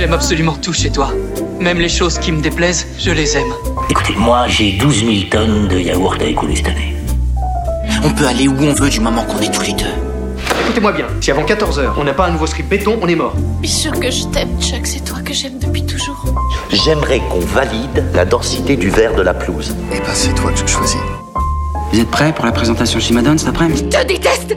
J'aime absolument tout chez toi. Même les choses qui me déplaisent, je les aime. Écoutez, moi, j'ai 12 000 tonnes de yaourt à écouler cette année. On peut aller où on veut du moment qu'on est tous les deux. Écoutez-moi bien, si avant 14h, on n'a pas un nouveau script béton, on est mort. Bien sûr que je t'aime, Chuck, c'est toi que j'aime depuis toujours. J'aimerais qu'on valide la densité du verre de la pelouse. Eh ben, c'est toi que je choisis. Vous êtes prêts pour la présentation chez Madone cet après-midi? Je te déteste!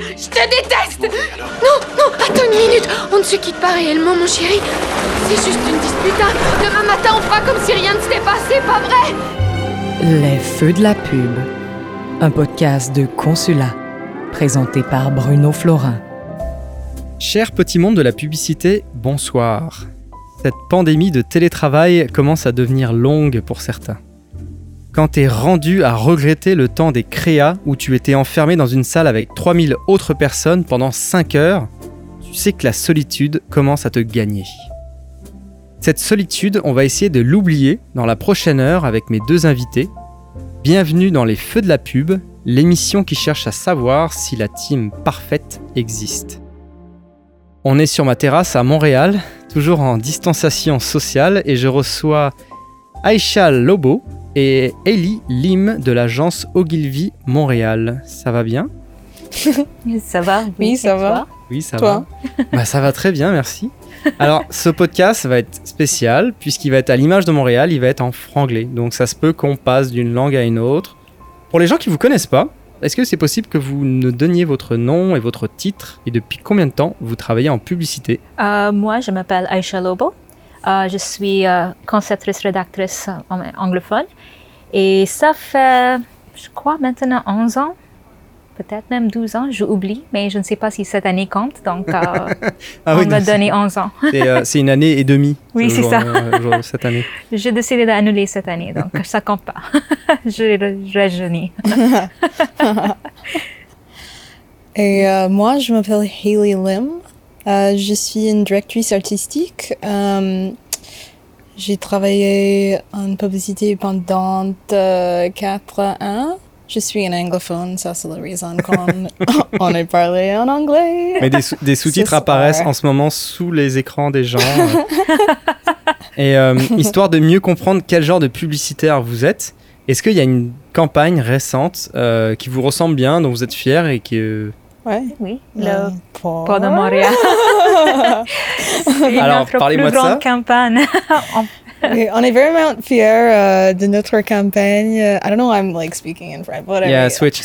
Non, attends une minute. On ne se quitte pas réellement, mon chéri. C'est juste une dispute. Demain matin, on fera comme si rien ne s'était passé, pas vrai? Les Feux de la pub, un podcast de Consulat, présenté par Bruno Florin. Cher petit monde de la publicité, bonsoir. Cette pandémie de télétravail commence à devenir longue pour certains. Quand t'es rendu à regretter le temps des créas où tu étais enfermé dans une salle avec 3000 autres personnes pendant 5 heures, tu sais que la solitude commence à te gagner. Cette solitude, on va essayer de l'oublier dans la prochaine heure avec mes deux invités. Bienvenue dans les Feux de la pub, l'émission qui cherche à savoir si la team parfaite existe. On est sur ma terrasse à Montréal, toujours en distanciation sociale, et je reçois Aïcha Lobo et Ellie Lim de l'agence Ogilvy Montréal. Ça va bien ? Ça va ? Oui, ça va. Oui, ça Toi ? va. Ça va très bien, merci. Alors, ce podcast va être spécial, puisqu'il va être à l'image de Montréal, il va être en franglais. Donc ça se peut qu'on passe d'une langue à une autre. Pour les gens qui ne vous connaissent pas, est-ce que c'est possible que vous nous donniez votre nom et votre titre et depuis combien de temps vous travaillez en publicité ? Moi, je m'appelle Aïcha Lobo. Je suis conceptrice-rédactrice anglophone. Et ça fait, je crois, maintenant 11 ans. Peut-être même 12 ans, j'oublie, mais je ne sais pas si cette année compte, donc on m'a donné 11 ans. C'est une année et demie. Oui, c'est ça. Cette année. J'ai décidé d'annuler cette année, donc ça compte pas. Je rajeunis. Et moi, je m'appelle Hayley Lim. Je suis une directrice artistique. J'ai travaillé en publicité pendant 4 ans. Je suis un anglophone, ça c'est la raison qu'on est parlé en anglais. Mais des sous-titres apparaissent en ce moment sous les écrans des gens. Et histoire de mieux comprendre quel genre de publicitaire vous êtes, est-ce qu'il y a une campagne récente qui vous ressemble bien, dont vous êtes fiers et que... Ouais. Oui, le Port de Montréal. C'est alors, notre parlez-moi plus de ça. grande campagne. On est vraiment fiers de notre campagne. I don't know, I'm like speaking in French, whatever. Yeah, switch.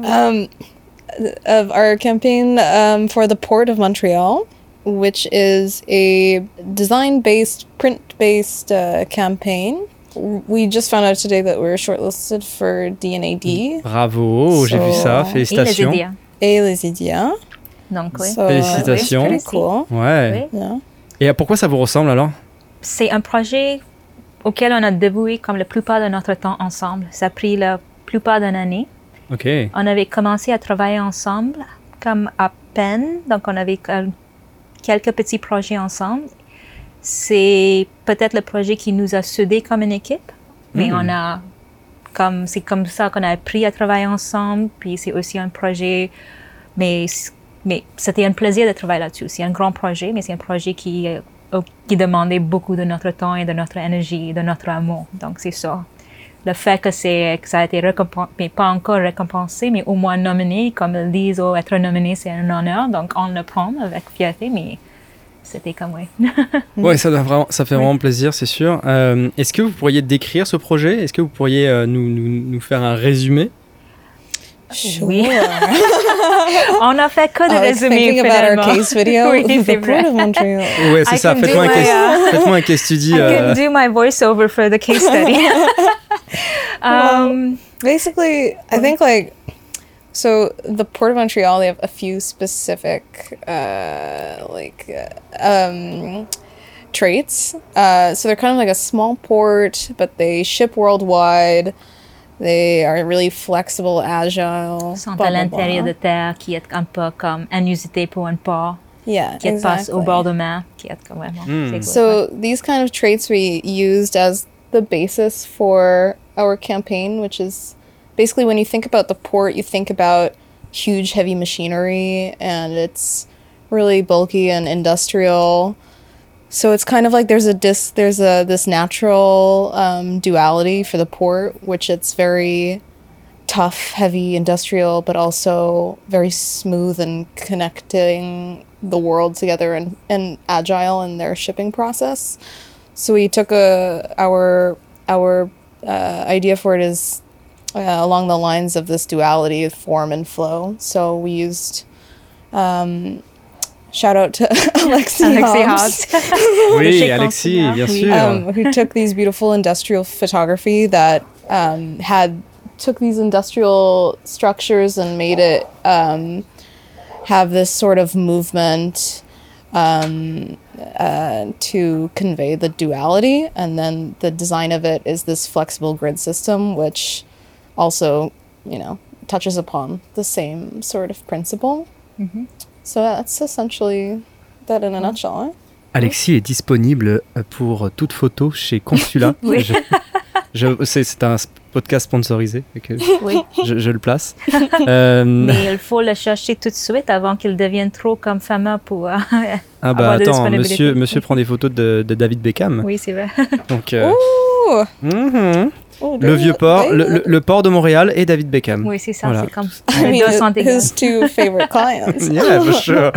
Of our campaign for the Port of Montreal, which is a design-based, print-based campaign. We just found out today that we were shortlisted for D&AD. Bravo, j'ai vu ça, félicitations. Et les IDEA. Donc, oui. Félicitations. Pretty cool. Ouais. Oui. Yeah. Et pourquoi ça vous ressemble alors ? C'est un projet auquel on a dévoué comme la plupart de notre temps ensemble. Ça a pris la plupart d'une année. Ok. On avait commencé à travailler ensemble comme à peine, donc on avait quelques petits projets ensemble. C'est peut-être le projet qui nous a soudés comme une équipe, mais c'est comme ça qu'on a appris à travailler ensemble. Puis c'est aussi un projet, mais c'était un plaisir de travailler là-dessus. C'est un grand projet, mais c'est un projet qui demandait beaucoup de notre temps et de notre énergie, de notre amour. Donc c'est ça. Le fait que ça a été récompensé, mais pas encore récompensé, mais au moins nominé, comme ils disent, être nominé c'est un honneur. Donc on le prend avec fierté, mais c'était comme oui. Ouais, ça fait vraiment plaisir, c'est sûr. Est-ce que vous pourriez décrire ce projet ? Est-ce que vous pourriez nous faire un résumé ? Oui. On a fait que de résumés finalement. About our case video. Oui, c'est vrai. Port of Montreal. Ouais, c'est ça. Faites-moi un case study. I can do my voiceover for the case study. Basically, I think so the Port of Montreal, they have a few specific traits. So they're kind of like a small port, but they ship worldwide. They are really flexible, agile. Ils sont à l'intérieur de terre, qui est un peu comme inusité pour un port. Yeah, qui passe au bord de mer, qui est comme vraiment. So these kind of traits we used as the basis for our campaign, which is basically when you think about the port, you think about huge, heavy machinery, and it's really bulky and industrial. So it's kind of like there's this natural duality for the port, which it's very tough, heavy, industrial, but also very smooth and connecting the world together and agile in their shipping process. So we took our idea for it is along the lines of this duality of form and flow. So we used shout out to Alexi Hobbs. Oui, Alexi, bien sûr. Who took these beautiful industrial photography that took these industrial structures and made it have this sort of movement to convey the duality. And then the design of it is this flexible grid system, which also, touches upon the same sort of principle. Mm-hmm. So that's essentially that in a nutshell. Hein? Alexi est disponible pour toute photo chez Consulat. Oui. C'est un podcast sponsorisé, oui. je le place. Mais il faut le chercher tout de suite avant qu'il devienne trop comme fameux pour avoir de disponibilité. Monsieur prend des photos de David Beckham. Oui, c'est vrai. Donc, le vieux port, le port de Montréal et David Beckham. Oui, c'est ça, voilà. C'est comme les deux sont égaux. His two favorite clients. Yeah, for sure.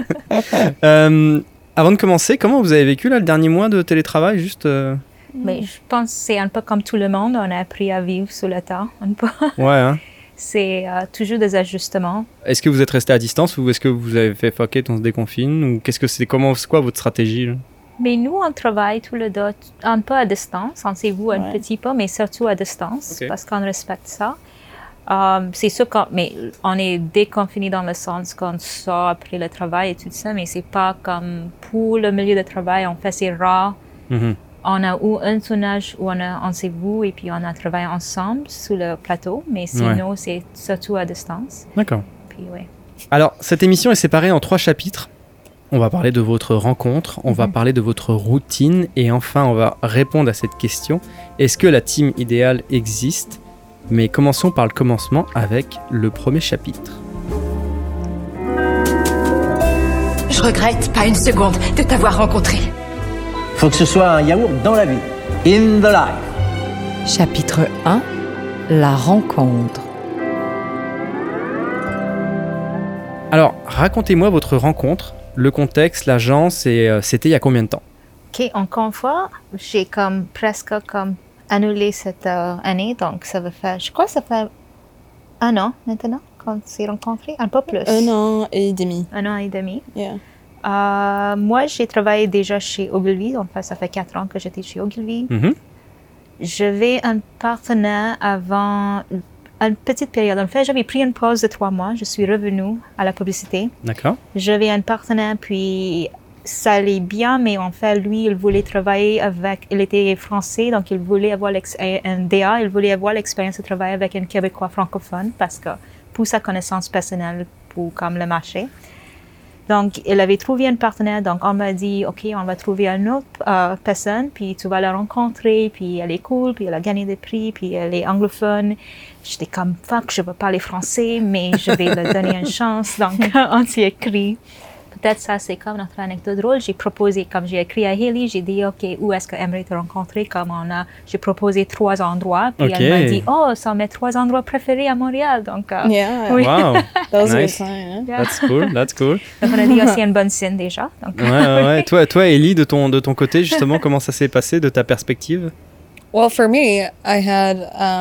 Avant de commencer, comment vous avez vécu là, le dernier mois de télétravail juste Mais je pense que c'est un peu comme tout le monde, on a appris à vivre sous le temps. Ouais, hein. C'est toujours des ajustements. Est-ce que vous êtes resté à distance ou est-ce que vous avez fait fuck it, on se déconfine ou c'est quoi votre stratégie là? Mais nous, on travaille tous les deux un peu à distance, on s'est vu un petit peu, mais surtout à distance, parce qu'on respecte ça. C'est sûr qu'on est déconfiné dans le sens qu'on sort après le travail et tout ça, mais c'est pas comme pour le milieu de travail, en fait, c'est rare. Mm-hmm. On a eu un tournage où on s'est vu et puis on a travaillé ensemble sur le plateau, mais sinon, c'est surtout à distance. D'accord. Puis, ouais. Alors, cette émission est séparée en 3 chapitres. On va parler de votre rencontre, on va parler de votre routine et enfin, on va répondre à cette question. Est-ce que la team idéale existe ? Mais commençons par le commencement avec le premier chapitre. Je regrette pas une seconde de t'avoir rencontré. Faut que ce soit un yaourt dans la vie. In the life. Chapitre 1. La rencontre. Alors, racontez-moi votre rencontre, le contexte, l'agence et c'était il y a combien de temps ? OK, encore une fois, j'ai presque annulé cette année, donc ça va faire, je crois que ça fait 1 an maintenant qu'on s'est rencontrés, un peu plus. 1 an et demi. 1 an et demi. Yeah. Moi, j'ai travaillé déjà chez Ogilvy, donc ça fait 4 ans que j'étais chez Ogilvy. Mm-hmm. J'avais un partenaire avant une petite période. En fait, j'avais pris une pause de 3 mois. Je suis revenue à la publicité. D'accord. J'avais un partenaire, puis ça allait bien, mais en fait, lui, il voulait travailler avec... Il était français, donc il voulait avoir un DA, il voulait avoir l'expérience de travailler avec un Québécois francophone, parce que pour sa connaissance personnelle, pour comme le marché. Donc, il avait trouvé un partenaire, donc on m'a dit, OK, on va trouver une autre personne, puis tu vas la rencontrer, puis elle est cool, puis elle a gagné des prix, puis elle est anglophone. J'étais comme, fuck, je veux parler français, mais je vais lui donner une chance. Donc, on s'est écrit. Peut-être ça, c'est comme notre anecdote drôle. J'ai proposé, comme j'ai écrit à Hailey, j'ai dit, OK, où est-ce que aimerait te rencontrer? J'ai proposé 3 endroits. Puis elle m'a dit, oh, ça mes 3 endroits préférés à Montréal. Donc, yeah. Oui. Wow. That was nice. a good sign. Yeah. That's cool. Donc, on a dit aussi une bonne signe déjà. Donc, ouais. Toi, Ellie, de ton côté, justement, comment ça s'est passé de ta perspective? Well, for me, I had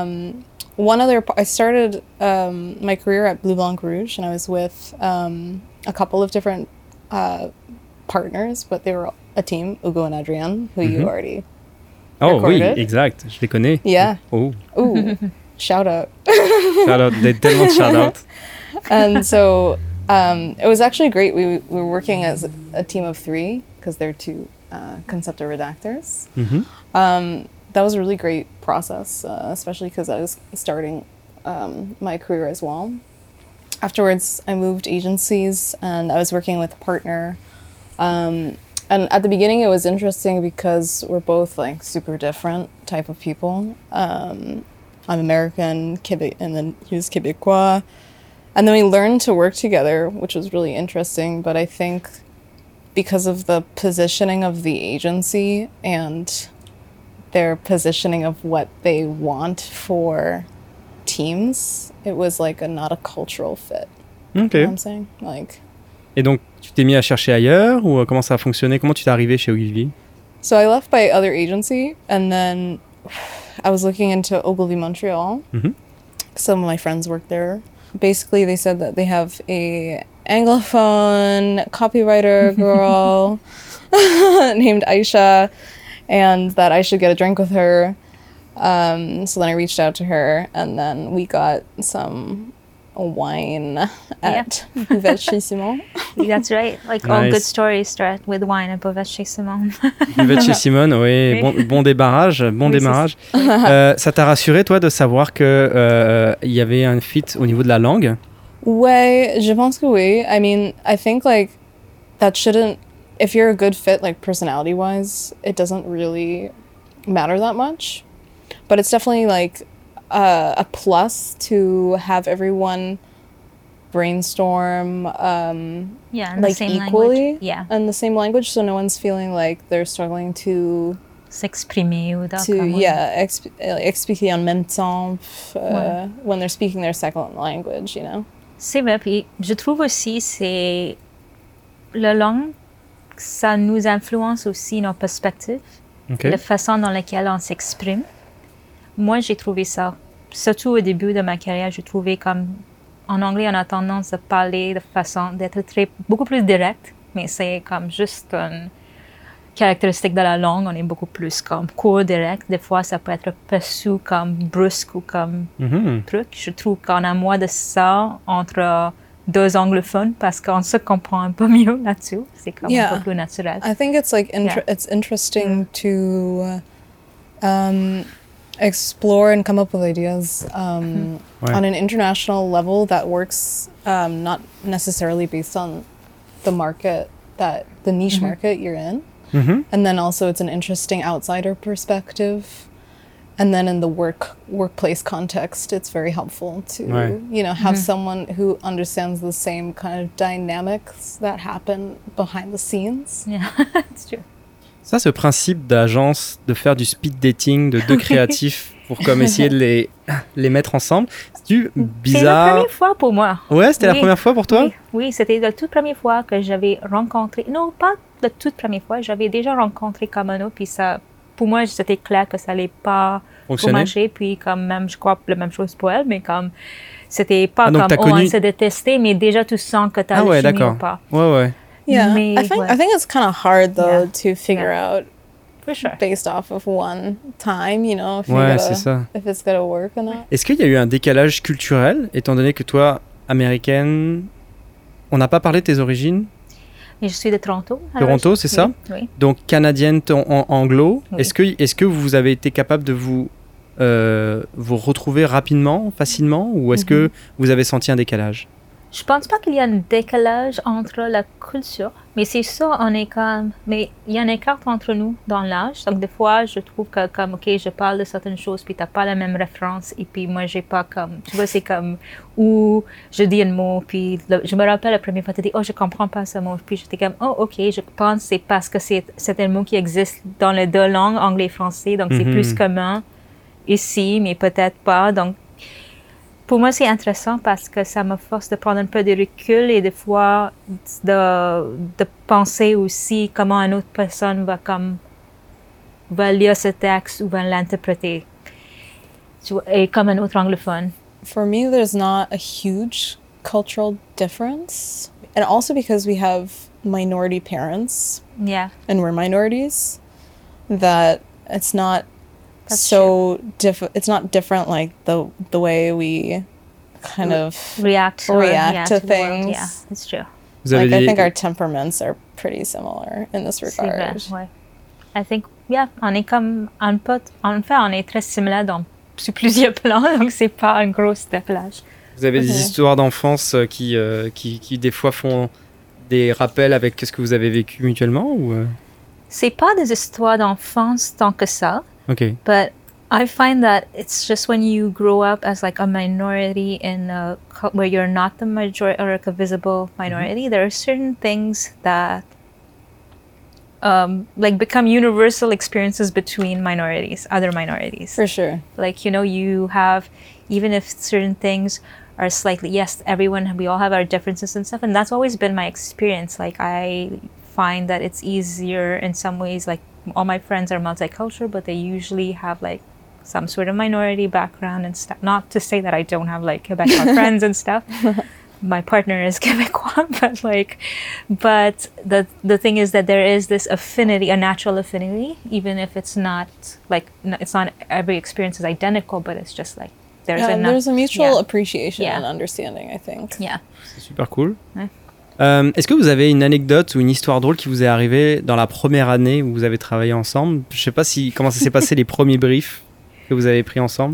I started my career at Bleu Blanc Rouge, and I was with a couple of different partners, but they were a team, Hugo and Adrienne, who you already recorded. Oui, exact, je les connais. Yeah. Oh. Ooh, shout out. Shout out, they tellement shout out. And so it was actually great. We were working as a team of 3 because they're 2 conceptor redactors. Mm-hmm. That was a really great process, especially because I was starting my career as well. Afterwards, I moved agencies and I was working with a partner. And at the beginning, it was interesting because we're both like super different type of people. I'm American, and then he was Québécois. And then we learned to work together, which was really interesting. But I think because of the positioning of the agency and their positioning of what they want for teams, it was like not a cultural fit. Ok. You know what I'm saying? Like, Et donc, tu t'es mis à chercher ailleurs ou comment ça a fonctionné? Comment tu t'es arrivé chez Ogilvy? so I left by other agency, and then I was looking into Ogilvy Montreal. Mhm. Some of my friends work there. Basically, they said that they have a Anglophone copywriter girl named Aisha, and that I should get a drink with her. So then I reached out to her, and then we got some wine at Buvette chez Simon. That's right. Like all Nice. good stories start with wine at Buvette chez Simon. Buvette chez Simone, oui, Oui. bon démarrage, bon Oui, démarrage. Ça t'a rassuré, toi, de savoir que il y avait un fit au niveau de la langue? Ouais, je pense que oui. I mean, I think like that shouldn't, if you're a good fit, like personality wise, it doesn't really matter that much. But it's definitely like a plus to have everyone brainstorm Yeah, in like the same equally language. Yeah, in the same language, so no one's feeling like they're struggling to s'exprimer ou expliquer en même temps when they're speaking their second language, you know. C'est vrai. Puis je trouve aussi c'est la langue, ça nous influence aussi nos perspectives, Ok. la façon dans laquelle on s'exprime. Moi, j'ai trouvé ça. Surtout au début de ma carrière, j'ai trouvé comme en anglais, on a tendance à parler de façon d'être beaucoup plus direct, mais c'est comme juste une caractéristique de la langue. On est beaucoup plus comme court, direct. Des fois, ça peut être perçu comme brusque ou comme Mhm. truc. Je trouve qu'on a moins de ça entre deux anglophones parce qu'on se comprend un peu mieux là-dessus. C'est comme un peu plus naturel. I think it's like Yeah. it's interesting to explore and come up with ideas Ouais. on an international level that works, not necessarily based on the market the niche market you're in. Mhm. And then also it's an interesting outsider perspective. And then in the workplace context, it's very helpful to, Ouais. have someone who understands the same kind of dynamics that happen behind the scenes. Yeah, it's true. Ça, ce principe d'agence, de faire du speed dating de deux créatifs pour comme essayer de les mettre ensemble, c'est-tu C'est la bizarre? première fois pour moi. Ouais, c'était la Oui. première fois pour toi? Oui, c'était la toute première fois que j'avais rencontré. Non, pas la toute première fois. J'avais déjà rencontré Kamano, puis ça, pour moi, c'était clair que ça allait pas Fonctionner. marcher. Puis quand même, je crois la même chose pour elle, mais comme c'était pas Ah, donc comme t'as connu- on s'est détesté, mais déjà tu sens que t'as Ah le ouais, chimie d'accord. ou pas. Ouais, ouais. Yeah, Mais, I think it's kind of hard though to figure out For sure. based off of one time, if Ouais, c'est ça. if it's gonna work or not. Est-ce qu'il y a eu un décalage culturel, étant donné que toi, américaine, on n'a pas parlé de tes origines? Et je suis de Toronto. Toronto, c'est ça? Oui. Donc canadienne en anglo. Oui. Est-ce que vous avez été capable de vous retrouver rapidement, facilement, ou est-ce que vous avez senti un décalage? Je pense pas qu'il y a un décalage entre la culture, mais c'est ça, mais il y a un écart entre nous dans l'âge. Donc des fois, je trouve que comme, ok, je parle de certaines choses, puis t'as pas la même référence, et puis moi, j'ai pas comme, tu vois, c'est comme, où je dis un mot, puis je me rappelle la première fois, tu dis, oh, je comprends pas ce mot, puis j'étais comme, oh, ok, je pense que c'est parce que c'est un mot qui existe dans les deux langues, anglais et français, donc c'est plus commun ici, mais peut-être pas, donc pour moi, c'est intéressant parce que ça me force de prendre un peu de recul et des fois de penser aussi comment une autre personne va lire ce texte ou va l'interpréter. Et comme un autre anglophone. For me, there's not a huge cultural difference. And also because we have minority parents Yeah. and we're minorities, that it's not That's it's not different like the way we kind of react to the world. things. Yeah, it's true. Vous avez Like I des- think our temperaments are pretty similar in this C'est vrai, regard. ouais. I think, yeah, on est comme en fait, on est très similaires sur plusieurs plans, donc c'est pas un gros décalage. Vous avez des histoires d'enfance qui des fois font des rappels avec ce que vous avez vécu mutuellement ou C'est pas des histoires d'enfance tant que ça. Ok. But I find that it's just when you grow up as like a minority where you're not the majority or like a visible minority, there are certain things that like become universal experiences between minorities, other minorities. For sure. Like, you know, you have, even if certain things are slightly, yes, we all have our differences and stuff, and that's always been my experience. Like, I find that it's easier in some ways, like, all my friends are multicultural, but they usually have, like, some sort of minority background and stuff. Not to say that I don't have, like, Quebecois friends and stuff. My partner is Quebecois, but the thing is that there is this affinity, a natural affinity, even if it's not, like, it's not every experience is identical, but it's just, like, there's a mutual appreciation and understanding, I think. Yeah. C'est super cool. Ouais. Est-ce que vous avez une anecdote ou une histoire drôle qui vous est arrivée dans la première année où vous avez travaillé ensemble? Je sais pas comment ça s'est passé les premiers briefs que vous avez pris ensemble.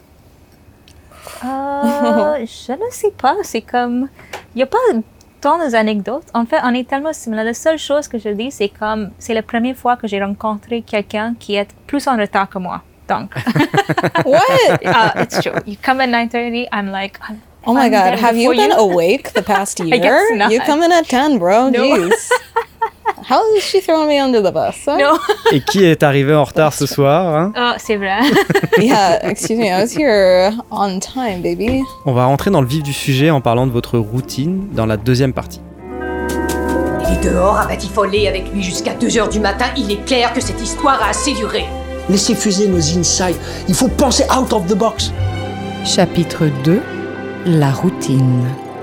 Je ne sais pas. C'est comme, il y a pas tant d'anecdotes. En fait, on est tellement similaires. La seule chose que je dis, c'est comme, c'est la première fois que j'ai rencontré quelqu'un qui est plus en retard que moi. Donc. What? It's true. You come at 9:30. I'm like. Oh my God, have you been awake the past year? I guess not. You come in at 10, bro. No. Jeez. How is she throwing me under the bus? Huh? No. Et qui est arrivé en retard ce soir, hein? Oh, c'est vrai. Yeah, excuse me, I was here on time, baby. On va rentrer dans le vif du sujet en parlant de votre routine dans la deuxième partie. Il est dehors à batifoler avec lui jusqu'à 2h du matin. Il est clair que cette histoire a assez duré. Laissez fuser nos insights. Il faut penser out of the box. Chapitre 2. La routine.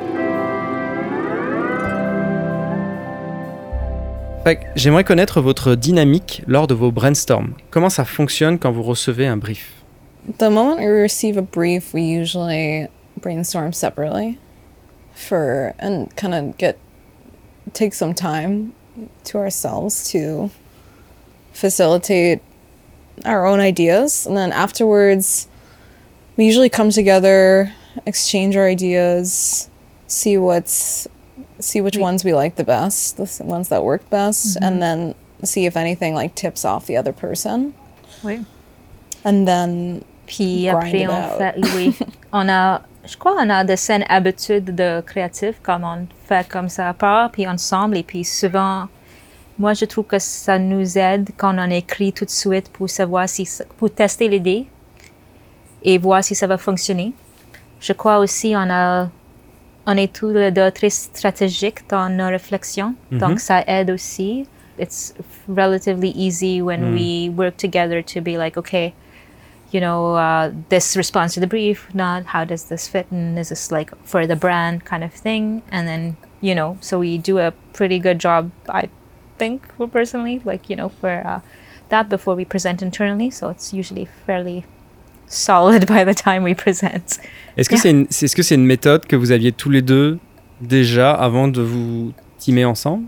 J'aimerais connaître votre dynamique lors de vos brainstorms. Comment ça fonctionne quand vous recevez un brief? The moment we receive a brief, we usually brainstorm separately and kind of take some time to ourselves to facilitate our own ideas. And then afterwards, we usually come together, exchange our ideas, see which ones we like the best, the ones that work best, and then see if anything like tips off the other person. Oui. And then puis après on fait, oui, je crois on a de saines habitudes de créatifs, comme on fait comme ça à part, puis ensemble, et puis souvent, moi je trouve que ça nous aide quand on écrit tout de suite pour savoir pour tester l'idée et voir si ça va fonctionner. Je crois aussi on est tous les deux très stratégiques dans nos réflexions, donc ça aide aussi. It's relatively easy when we work together to be like, okay, you know, this responds to the brief, not how does this fit, and is this like for the brand kind of thing, and then, you know, so we do a pretty good job, I think, personally, like, you know, for that before we present internally, so it's usually fairly solid by the time we present. Est-ce que c'est une méthode que vous aviez tous les deux déjà avant de vous teamer ensemble?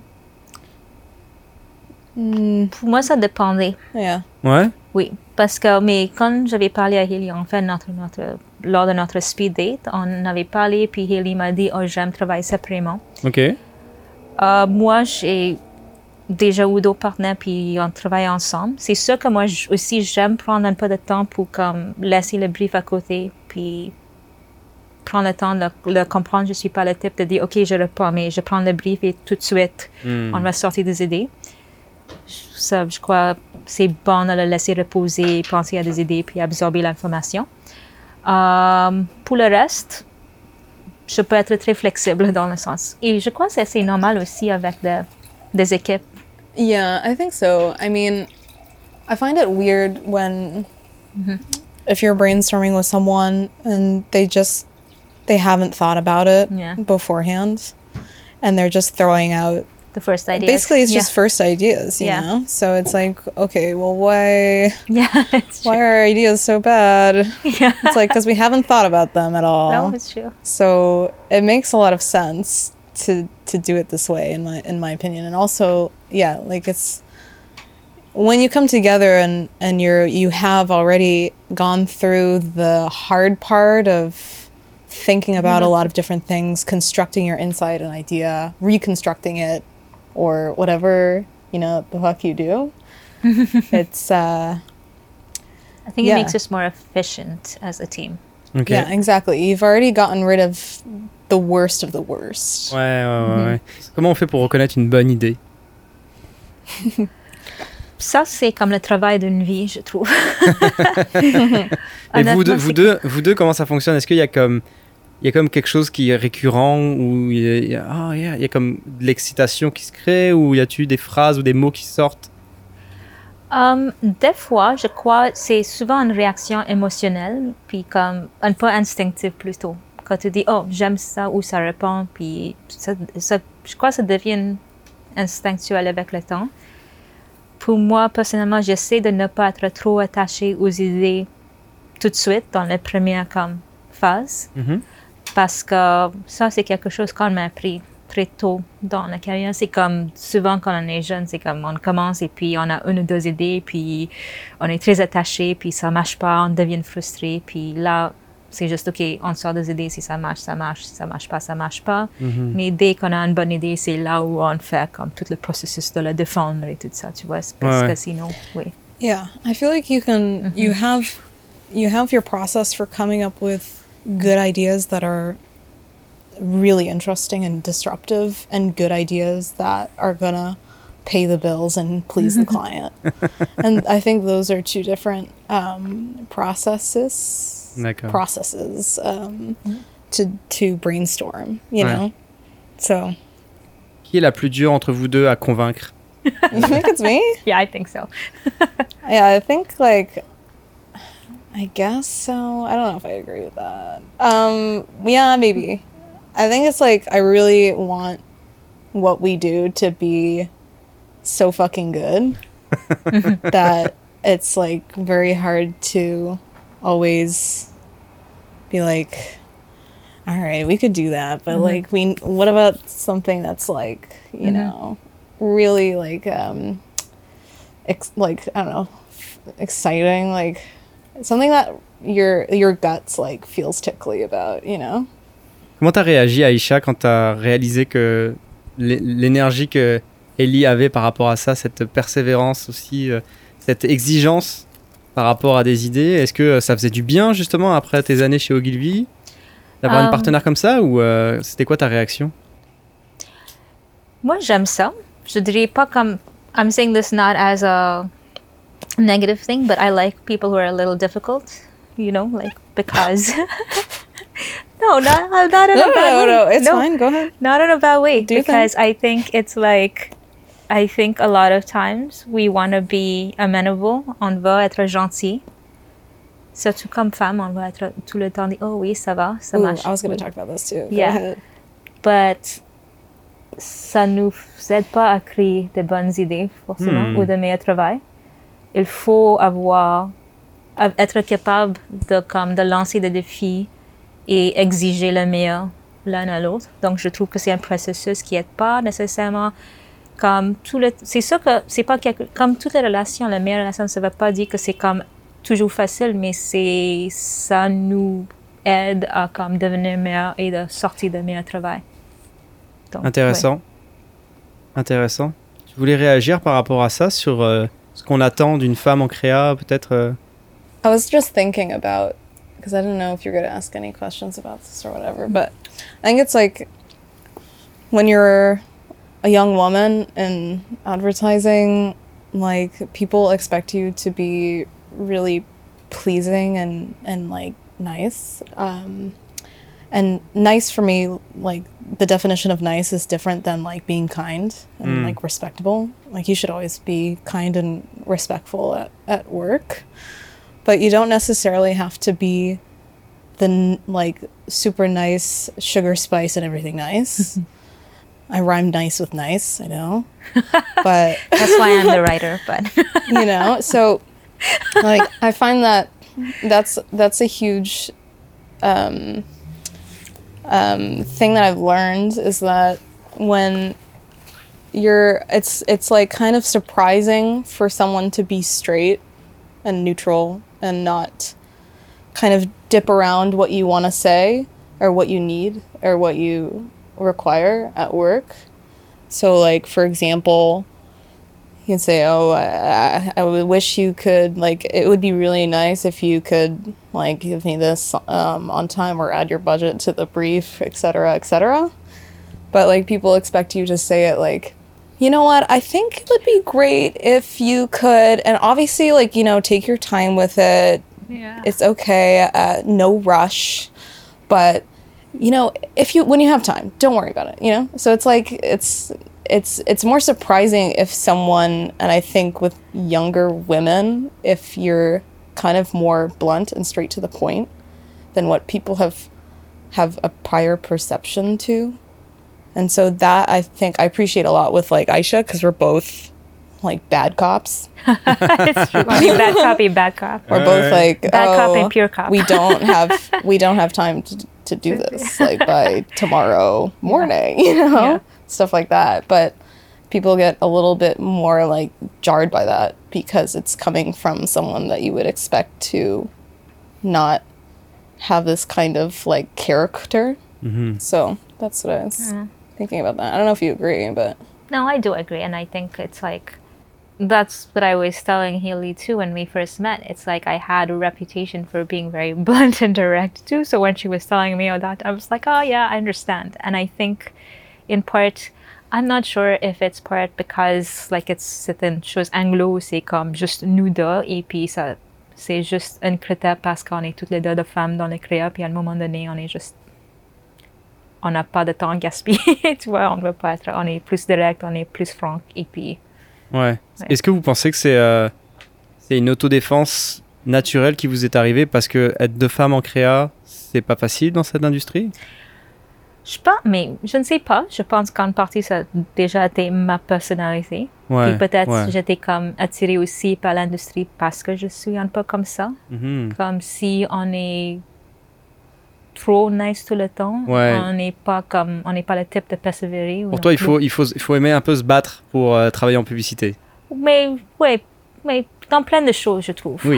Pour moi, ça dépendait. Yeah. Ouais? Oui, parce que quand j'avais parlé à Haley, en fait, lors de notre speed date, on avait parlé, puis Haley m'a dit, oh, j'aime travailler séparément. OK. Moi, j'ai déjà eu d'autres partenaires, puis on travaille ensemble. C'est sûr que moi aussi, j'aime prendre un peu de temps pour comme, laisser le brief à côté, puis prendre le temps de le comprendre. Je ne suis pas le type de dire, OK, je reprends, mais je prends le brief et tout de suite, on va sortir des idées. Ça, je crois, c'est bon de le laisser reposer, penser à des idées, puis absorber l'information. Pour le reste, je peux être très flexible dans le sens. Et je crois que c'est assez normal aussi avec des équipes. Yeah, I think so. I mean, I find it weird when if you're brainstorming with someone and they haven't thought about it beforehand, and they're just throwing out the first ideas. Basically, it's just first ideas, you know? So it's like, okay, well, why are our ideas so bad? Yeah. It's like, because we haven't thought about them at all. No, it's true. So it makes a lot of sense to do it this way, in my opinion. And also, yeah, like it's when you come together and you have already gone through the hard part of thinking about a lot of different things, constructing your insight and idea, reconstructing it, or whatever, you know, the fuck you do. It's I think it makes us more efficient as a team. Okay. Yeah, exactly. You've already gotten rid of the worst of the worst. Ouais. Comment on fait pour reconnaître une bonne idée? Ça, c'est comme le travail d'une vie, je trouve. Et vous deux, comment ça fonctionne? Est-ce qu'il y a comme quelque chose qui est récurrent, ou il y a comme de l'excitation qui se crée, ou y a-t-il des phrases ou des mots qui sortent? Des fois, je crois, c'est souvent une réaction émotionnelle, puis comme un peu instinctive plutôt. Quand tu dis « Oh, j'aime ça » ou ça répond, puis ça, je crois que ça devient instinctuel avec le temps. Pour moi, personnellement, j'essaie de ne pas être trop attachée aux idées tout de suite dans la première phase, parce que ça, c'est quelque chose qu'on m'a appris très tôt dans la carrière. C'est comme souvent quand on est jeune, c'est comme on commence et puis on a une ou deux idées, puis on est très attaché, puis ça marche pas, on devient frustré, puis là, c'est juste OK, on sort des idées, si ça marche, ça marche, si ça marche pas, ça marche pas. Mais dès qu'on a une bonne idée, c'est là où on fait comme tout le processus de la défendre et tout ça, tu vois, parce que sinon, oui. Yeah, I feel like you can, you have your process for coming up with good ideas that are really interesting and disruptive, and good ideas that are gonna pay the bills and please the client. And I think those are two different processes to brainstorm, you know. So, qui est la plus dure entre vous deux à convaincre? You think it's me? Yeah, I think so. Yeah, I think I guess so. I don't know if I agree with that. Yeah, maybe. I think it's I really want what we do to be so fucking good that it's very hard to always be all right, we could do that, but what about something that's you know, really I don't know, exciting, something that your guts feels tickly about, you know? Comment t'as réagi, Aïcha, quand t'as réalisé que l'énergie que Ellie avait par rapport à ça, cette persévérance aussi, cette exigence par rapport à des idées, est-ce que ça faisait du bien justement après tes années chez Ogilvy d'avoir une partenaire comme ça, ou c'était quoi ta réaction? Moi, j'aime ça. Je dirais pas comme... I'm saying this not as a negative thing, but I like people who are a little difficult, you know, because... No, not in a bad way. No, it's fine, go ahead. Not in a bad way, because think? I think it's I think a lot of times we want to be amenable, on veut être gentil. Surtout comme femme, on veut être tout le temps dit, oh oui, ça va, ça marche. I was going to talk about this too. Yeah. Go ahead. But ça nous aide pas à créer de bonnes idées, forcément, ou de meilleur travail. Il faut être capable de lancer des défis et exiger le meilleur l'un à l'autre. Donc, je trouve que c'est un processus qui n'aide pas nécessairement comme c'est sûr que c'est pas comme toutes les relations, la meilleure relation, ça ne veut pas dire que c'est comme toujours facile, mais ça nous aide à comme devenir meilleur et de sortir de meilleur travail. Donc, intéressant. Intéressant. Tu voulais réagir par rapport à ça, sur ce qu'on attend d'une femme en créa, peut-être I was just thinking about, because I don't know if you're going to ask any questions about this or whatever, but I think it's when you're a young woman in advertising, people expect you to be really pleasing and nice. And nice for me, the definition of nice is different than being kind and respectable. You should always be kind and respectful at work, but you don't necessarily have to be the super nice, sugar, spice, and everything nice. I rhymed nice with nice, I know, but that's why I'm the writer. But you know, so I find that's a huge thing that I've learned, is that when it's kind of surprising for someone to be straight and neutral and not kind of dip around what you want to say or what you need or what you require at work. So for example, you can say, oh, I would wish you could, it would be really nice if you could give me this on time or add your budget to the brief, etc., etc. But people expect you to say it You know what? I think it would be great if you could, and obviously, like, you know, take your time with it. Yeah. It's okay. No rush. But, you know, when you have time, don't worry about it, you know? So it's like, it's more surprising if someone, and I think with younger women, if you're kind of more blunt and straight to the point than what people have a prior perception to. And so that I think I appreciate a lot with like Aisha, because we're both like bad cops. It's true. I mean, bad cop. We're both like bad cop and pure cop. we don't have time to do this like by tomorrow morning, you know, stuff like that. But people get a little bit more like jarred by that because it's coming from someone that you would expect to not have this kind of like character. Mm-hmm. So that's what I was thinking about that. I don't know if you agree, but no, I do agree, and I think it's like that's what I was telling Haley too when we first met. It's like I had a reputation for being very blunt and direct too. So when she was telling me all that, I was like, oh yeah, I understand. And I think in part, I'm not sure if it's part because like it's certaines choses anglo, c'est comme juste nous deux, et puis ça, c'est juste un critère parce qu'on est toutes les deux de femmes dans le créa, puis à un moment donné, on n'a pas de temps gaspillé, tu vois, on est plus direct, on est plus franc, et puis... Ouais. Est-ce que vous pensez que c'est une autodéfense naturelle qui vous est arrivée parce que être deux femmes en créa, c'est pas facile dans cette industrie? Je pense, mais je ne sais pas. Je pense qu'en partie, ça a déjà été ma personnalité. Ouais, puis peut-être j'étais comme attirée aussi par l'industrie parce que je suis un peu comme ça. Mm-hmm. Comme si on est trop nice tout le temps. Ouais. On n'est pas le type de persévérer. Pour toi, il faut aimer un peu se battre pour travailler en publicité. Mais dans plein de choses, je trouve. Oui.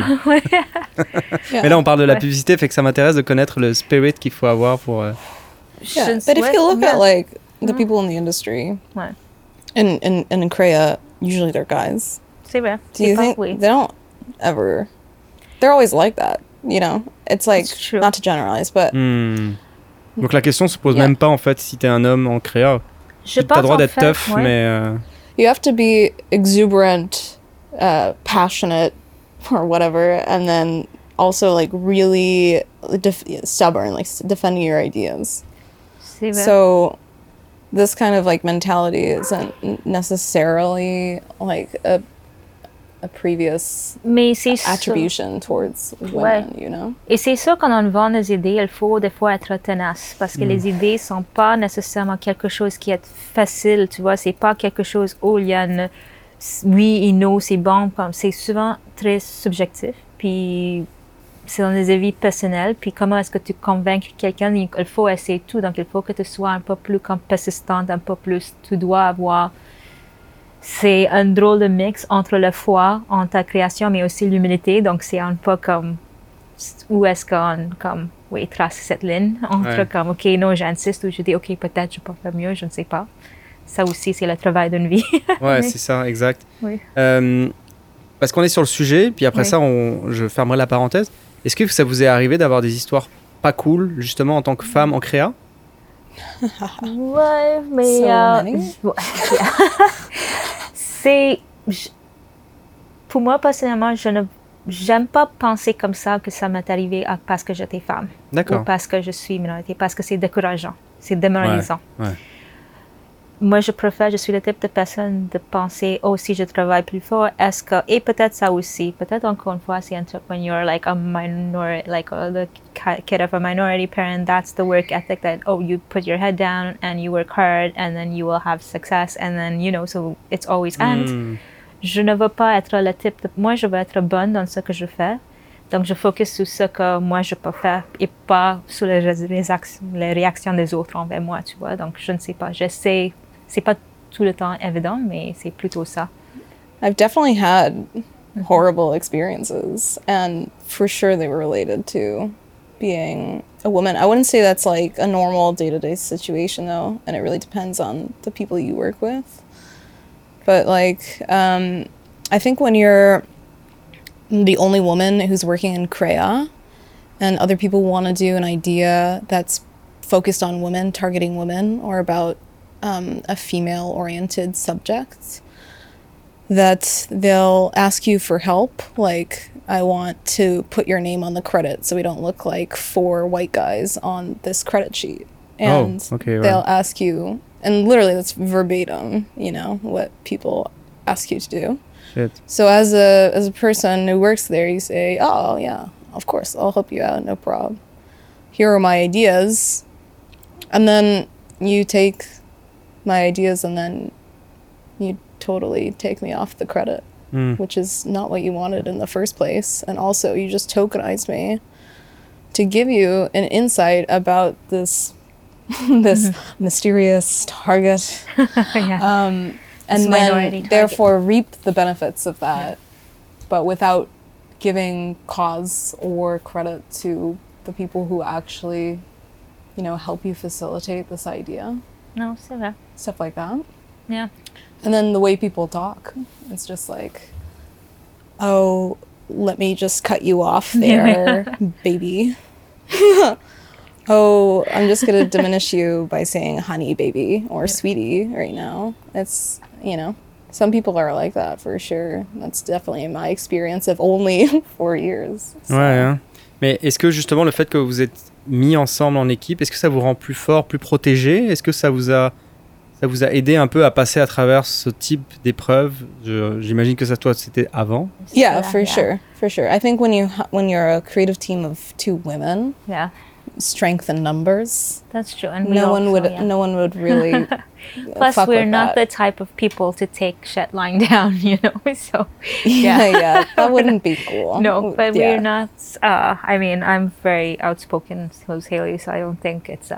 Mais là, on parle de la publicité, fait que ça m'intéresse de connaître le spirit qu'il faut avoir pour... Yeah, but if you look at like the people in the industry, and in Korea, usually they're guys. C'est vrai. Do you think they don't ever? They're always like that, you know. It's like not to generalize, but. Donc la question se pose même pas en fait si t'es un homme en créa. T'as le droit d'être tough, mais. You have to be exuberant, passionate, or whatever, and then also like really stubborn, like defending your ideas. So this kind of like mentality isn't necessarily like a previous attribution towards women, you know. Et c'est sûr quand on vend nos idées, il faut des fois être tenace parce que les idées sont pas nécessairement quelque chose qui est facile, tu vois, c'est pas quelque chose où il y a une oui et non, c'est bon, c'est souvent très subjectif, puis c'est dans des avis personnels, puis comment est-ce que tu convaincs quelqu'un, il faut essayer tout, donc il faut que tu sois un peu plus persistante, un peu plus, tu dois avoir, c'est un drôle de mix entre la foi en ta création, mais aussi l'humilité, donc c'est un peu comme, où est-ce qu'on, comme, oui, trace cette ligne, entre comme, ok, non, j'insiste, ou je dis, ok, peut-être je peux faire mieux, je ne sais pas. Ça aussi, c'est le travail d'une vie. Ouais, c'est ça, exact. Oui. Parce qu'on est sur le sujet, puis après ça, je fermerai la parenthèse. Est-ce que ça vous est arrivé d'avoir des histoires pas cool, justement, en tant que femme en créa? Ouais, mais... c'est... Pour moi, personnellement, j'aime pas penser comme ça que ça m'est arrivé parce que j'étais femme. D'accord. Ou parce que je suis minorité, parce que c'est décourageant, c'est démoralisant. Ouais. Moi, je suis le type de personne de penser, oh, si je travaille plus fort, est-ce que, et peut-être ça aussi, peut-être encore une fois, c'est un truc when you're like a minority, like the kid of a minority parent, that's the work ethic that, oh, you put your head down and you work hard and then you will have success and then, you know, so it's always and. Je ne veux pas être le type de, moi, je veux être bonne dans ce que je fais. Donc, je focus sur ce que moi, je peux faire et pas sur les réactions des autres envers moi, tu vois. Donc, je ne sais pas. J'essaie. C'est pas tout le temps évident, mais c'est plutôt ça. I've definitely had horrible experiences, and for sure they were related to being a woman. I wouldn't say that's like a normal day-to-day situation, though, and it really depends on the people you work with. But like, I think when you're the only woman who's working in CREA, and other people want to do an idea that's focused on women, targeting women, or about a female-oriented subject, that they'll ask you for help, like, I want to put your name on the credit so we don't look like 4 white guys on this credit sheet. And they'll ask you, and literally that's verbatim, you know, what people ask you to do. Shit. So as a person who works there, you say, oh, yeah, of course, I'll help you out, no problem. Here are my ideas. And then you take my ideas and then you totally take me off the credit, which is not what you wanted in the first place. And also, you just tokenized me to give you an insight about this mysterious target. And then therefore reap the benefits of that, but without giving cause or credit to the people who actually, you know, help you facilitate this idea. No, c'est vrai. Stuff like that. Yeah. And then the way people talk, it's just like, oh, let me just cut you off there, baby. Oh, I'm just going to diminish you by saying honey, baby, or sweetie right now. It's, you know, some people are like that for sure. That's definitely my experience of only 4 years. So. Ouais, hein. Mais est-ce que justement le fait que vous êtes mis ensemble en équipe, est-ce que ça vous rend plus fort, plus protégé? Est-ce que ça vous a aidé un peu à passer à travers ce type d'épreuve? J'imagine que ça, toi, c'était avant. Yeah, for sure. I think when you're a creative team of 2 women, strength in numbers. That's true, and no one would really. Plus, we're not the type of people to take shit lying down, you know. So yeah, that wouldn't be cool. No, but we're not. I mean, I'm very outspoken, who's Haley, so I don't think it's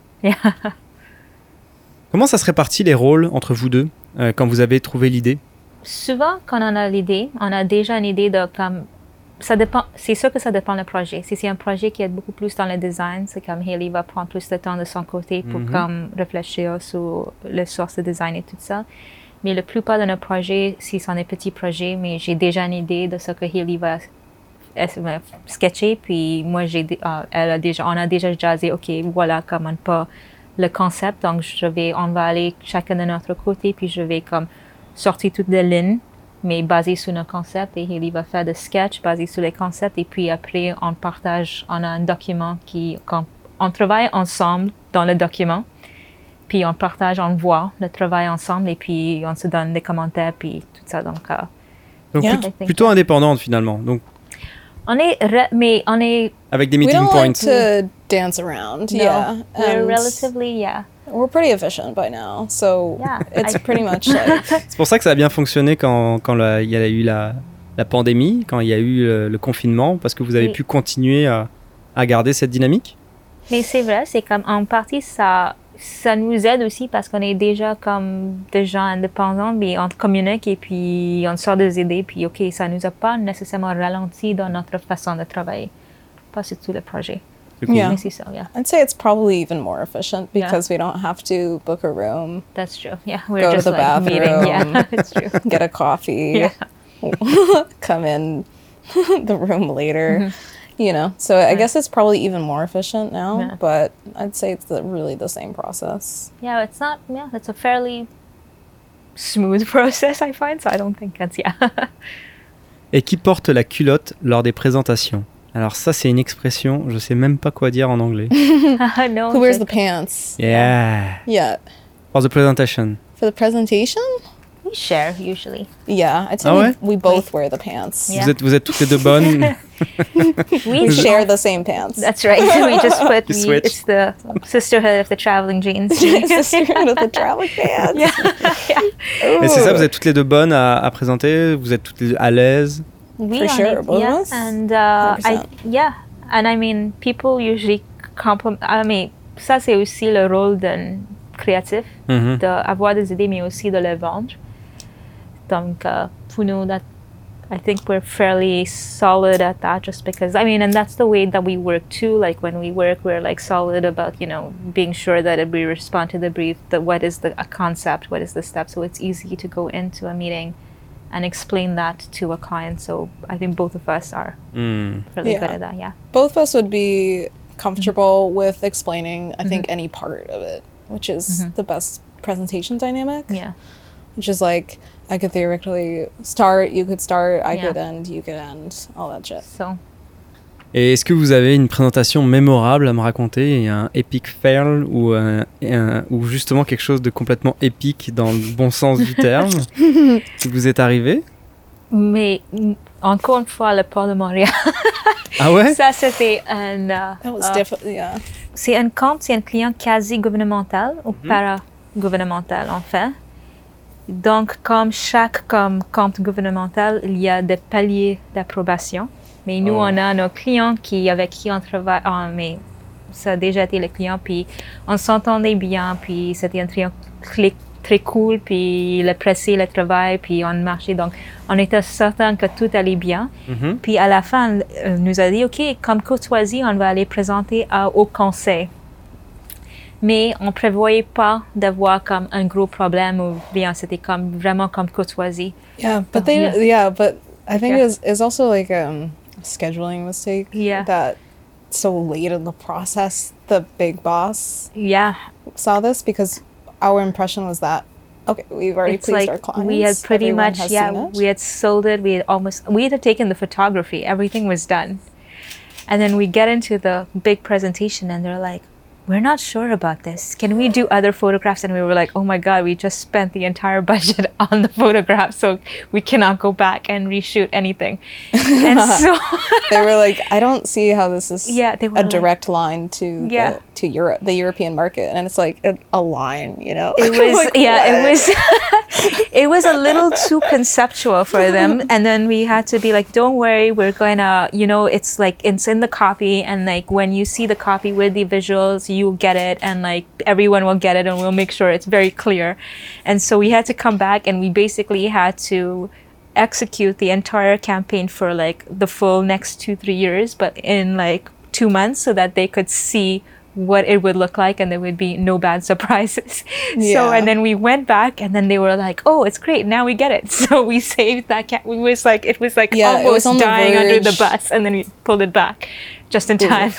Comment ça se répartit les rôles entre vous deux quand vous avez trouvé l'idée? Souvent, quand on a l'idée, on a déjà une idée de comme. Ça dépend, c'est sûr que ça dépend du projet. Si c'est un projet qui est beaucoup plus dans le design, c'est comme Haley va prendre plus de temps de son côté pour comme réfléchir sur les sources de design et tout ça. Mais la plupart de nos projets, si c'est un petit projet, mais j'ai déjà une idée de ce que Haley va sketcher, puis moi on a déjà jazzé, ok, voilà comment pas le concept, donc on va aller chacun de notre côté, puis je vais comme sortir toutes les lignes, mais basé sur nos concepts, et Haley va faire des sketchs basés sur les concepts, et puis après on partage, on a un document on travaille ensemble dans le document, puis on partage, on voit le travail ensemble, et puis on se donne des commentaires, puis tout ça, donc plutôt indépendante finalement. Donc on est avec des meeting we don't points. Like to dance around. No, yeah, we're relatively we're pretty efficient by now, so it's pretty much like. C'est pour ça que ça a bien fonctionné quand il y a eu la pandémie, quand il y a eu le confinement, parce que vous avez pu continuer à garder cette dynamique. Mais c'est vrai, c'est comme en partie ça nous aide aussi parce qu'on est déjà comme des gens indépendants, mais on communique et puis on sort des idées, puis ok, ça nous a pas nécessairement ralenti dans notre façon de travailler, pas sur tout le projet. Cool. Yeah. Mais c'est ça, I'd say it's probably even more efficient because we don't have to book a room. That's true. Yeah, we're go just to the like bathroom. meeting. Yeah, it's true. Get a coffee. Come in the room later. You know, so I guess it's probably even more efficient now, but I'd say it's really the same process. Yeah, it's not, it's a fairly smooth process, I find, so I don't think that's, Et qui porte la culotte lors des présentations? Alors ça, c'est une expression, je sais même pas quoi dire en anglais. No, who wears the pants? Yeah. For the presentation. For the presentation? We share, usually. Yeah, I'd say we both wear the pants. Yeah. Vous êtes toutes les deux bonnes. We share the same pants. That's right. We just put it's the sisterhood of the traveling jeans. Sisterhood of the traveling pants. Mais c'est ça, vous êtes toutes les deux bonnes à présenter, vous êtes toutes les deux à l'aise. For sure, both of us. And and I mean, people usually compliment. I mean, ça c'est aussi le rôle d'un créatif, d'avoir des idées, mais aussi de les vendre. Donc, pour nous, that I think we're fairly solid at that, just because, I mean, and that's the way that we work too. Like when we work, we're like solid about, you know, being sure that we respond to the brief, that what is a concept, what is the step. So it's easy to go into a meeting and explain that to a client. So I think both of us are really good at that, Both of us would be comfortable with explaining, I think, any part of it, which is the best presentation dynamic. Yeah. Which is like, I could theoretically start, you could start, I could end, you could end, all that shit. So. Et est-ce que vous avez une présentation mémorable à me raconter, et un epic fail ou justement quelque chose de complètement épique dans le bon sens du terme qui vous est arrivé? Mais encore une fois, le port de Montréal. Ah ouais? Ça, c'était un... C'est un compte, c'est un client quasi gouvernemental ou para-gouvernemental en fait. Donc, comme chaque compte gouvernemental, il y a des paliers d'approbation. Mais nous, on a nos clients avec qui on travaille. Mais ça a déjà été le client, puis on s'entendait bien, puis c'était un client très cool, puis il appréciait le travail, puis on marchait. Donc, on était certain que tout allait bien. Puis à la fin, on nous a dit, OK, comme courtoisie, on va aller présenter au conseil. Mais on ne prévoyait pas d'avoir comme un gros problème ou rien. C'était comme vraiment comme courtoisie. Yeah, but but I think it's also like a scheduling mistake. Yeah. That so late in the process, the big boss saw this, because our impression was that, okay, we've already pleased our clients. We had pretty much, we had sold it. We had taken the photography. Everything was done. And then we get into the big presentation and they're like, we're not sure about this. Can we do other photographs? And we were like, oh my God, we just spent the entire budget on the photograph, so we cannot go back and reshoot anything. And so they were like, I don't see how this is a direct line to Europe, the European market. And it's like a line, you know? It was, like, it was, it was a little too conceptual for them. And then we had to be like, don't worry, we're going to, it's like, it's in the copy. And like, when you see the copy with the visuals, you'll get it, and like everyone will get it, and we'll make sure it's very clear. And so we had to come back, and we basically had to execute the entire campaign for like the full next 2-3 years, but in like 2 months, so that they could see what it would look like and there would be no bad surprises. So, and then we went back, and then they were like, oh, it's great, now we get it. So we saved that it was like almost dying under the bus, and then we pulled it back just in time.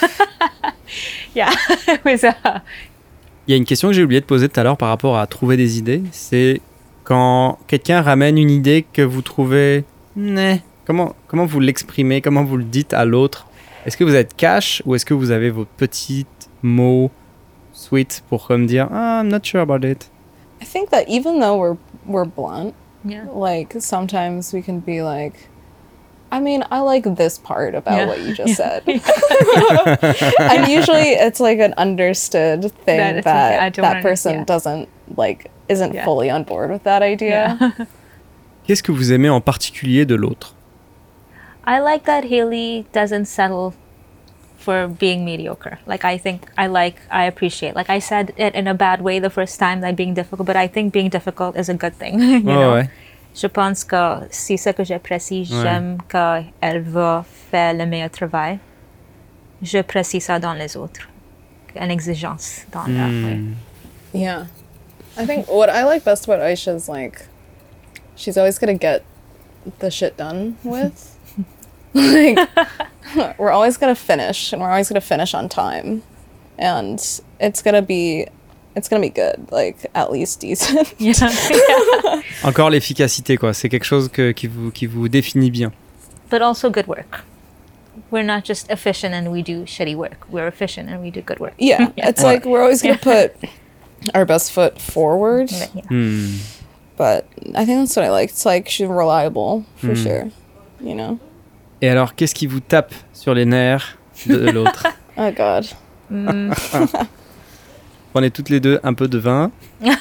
It was Il y a une question que j'ai oublié de poser tout à l'heure par rapport à trouver des idées, c'est quand quelqu'un ramène une idée que vous trouvez comment vous l'exprimez, comment vous le dites à l'autre? Est-ce que vous êtes cash ou est-ce que vous avez vos petits mots sweet pour comme dire I'm not sure about it? I think that even though we're blunt, like sometimes we can be like, I mean, I like this part about what you just said. And usually it's like an understood thing that person isn't fully on board with that idea. Qu'est-ce que vous aimez en particulier de l'autre? I like that Haley doesn't settle for being mediocre. Like, I appreciate. Like, I said it in a bad way the first time, like being difficult, but I think being difficult is a good thing. you know? Ouais. Je pense que c'est ça que j'apprécie. J'aime qu'elle va faire le meilleur travail. J'apprécie ça dans les autres. Une exigence dans leur. Yeah. I think what I like best about Aisha is like, she's always going to get the shit done with. Like, we're always going to finish, and we're always going to finish on time. And it's going to be good, like at least decent. Encore l'efficacité, quoi. C'est quelque chose qui vous définit bien. But also good work. We're not just efficient and we do shitty work. We're efficient and we do good work. Yeah, it's like we're always going to put our best foot forward. But I think that's what I like. It's like she's reliable, for sure, you know? Et alors, qu'est-ce qui vous tape sur les nerfs de l'autre? Oh God. Prenez toutes les deux un peu de vin.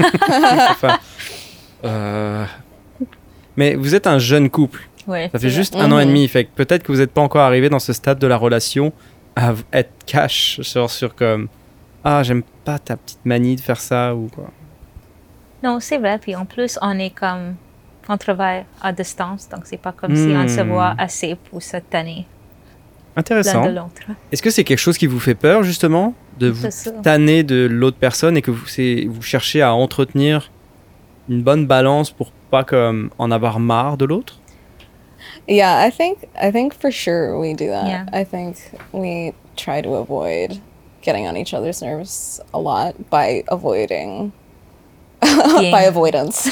Mais vous êtes un jeune couple. Ouais, ça fait juste 1 an et demi. Fait que peut-être que vous n'êtes pas encore arrivé dans ce stade de la relation à être cash sur comme j'aime pas ta petite manie de faire ça ou quoi. Non, c'est vrai. Puis en plus, on travaille à distance, donc c'est pas comme si on se voit assez pour se tanner. Intéressant. L'un de l'autre. Est-ce que c'est quelque chose qui vous fait peur, justement, de vous tanner de l'autre personne et que vous cherchez à entretenir une bonne balance pour pas comme en avoir marre de l'autre? Yeah, I think for sure we do that. Yeah. I think we try to avoid getting on each other's nerves a lot by avoiding by avoidance.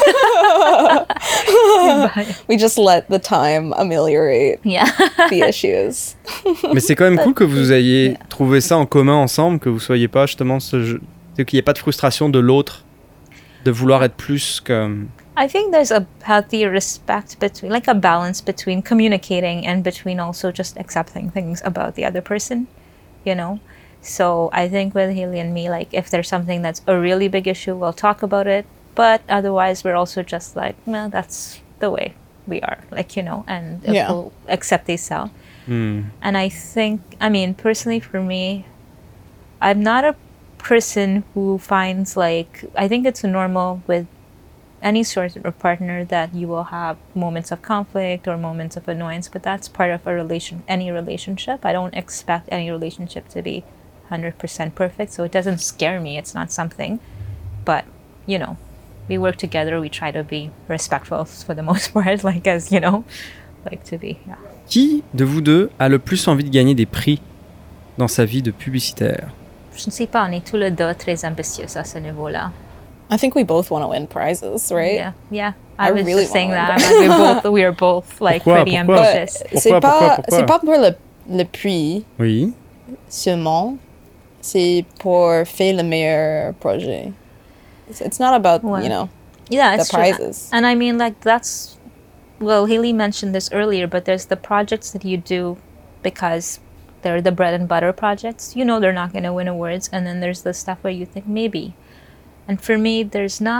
We just let the time ameliorate the issues. Mais c'est quand même cool que vous ayez trouvé ça en commun ensemble, que vous soyez pas justement qu'il n'y ait pas de frustration de l'autre, de vouloir être plus comme... I think there's a healthy respect between, like a balance between communicating and between also just accepting things about the other person, you know? So I think with Haley and me, like if there's something that's a really big issue, we'll talk about it. But otherwise, we're also just like, well, that's the way we are, like, you know, and we'll accept this out. And I think, I mean, personally for me, I'm not a person who finds like, I think it's normal with any sort of partner that you will have moments of conflict or moments of annoyance, but that's part of any relationship. I don't expect any relationship to be 100% perfect, so it doesn't scare me. It's not something, but you know, we work together. We try to be respectful for the most part, like as you know, like to be. Yeah. Qui de vous deux a le plus envie de gagner des prix dans sa vie de publicitaire? Je ne sais pas. On est tous les deux très ambitieux à ce niveau-là. I think we both want to win prizes, right? Yeah. I was really just saying that. We are both like pretty ambitious. C'est pas pour le prix. Oui. Seulement, c'est pour faire le meilleur projet. It's not about, you know, the prizes. True. And I mean, like that's, well, Haley mentioned this earlier, but there's the projects that you do because they're the bread and butter projects. You know they're not going to win awards, and then there's the stuff where you think maybe. And for me, there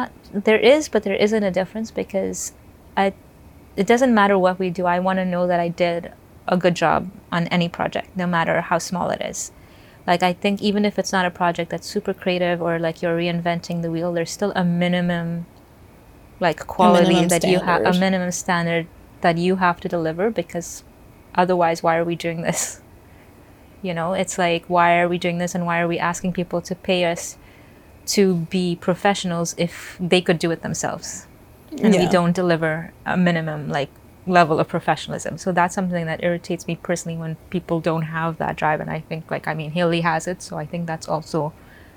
is, but there isn't a difference because it doesn't matter what we do. I want to know that I did a good job on any project, no matter how small it is. Like, I think even if it's not a project that's super creative or like you're reinventing the wheel, there's still a minimum, like, quality that you have, a minimum standard that you have to deliver, because otherwise, why are we doing this? You know, it's like, why are we doing this and why are we asking people to pay us to be professionals if they could do it themselves? And we don't deliver a minimum, like, level of professionalism. So that's something that irritates me personally when people don't have that drive. And I think, like, I mean, Haley has it, so I think that's also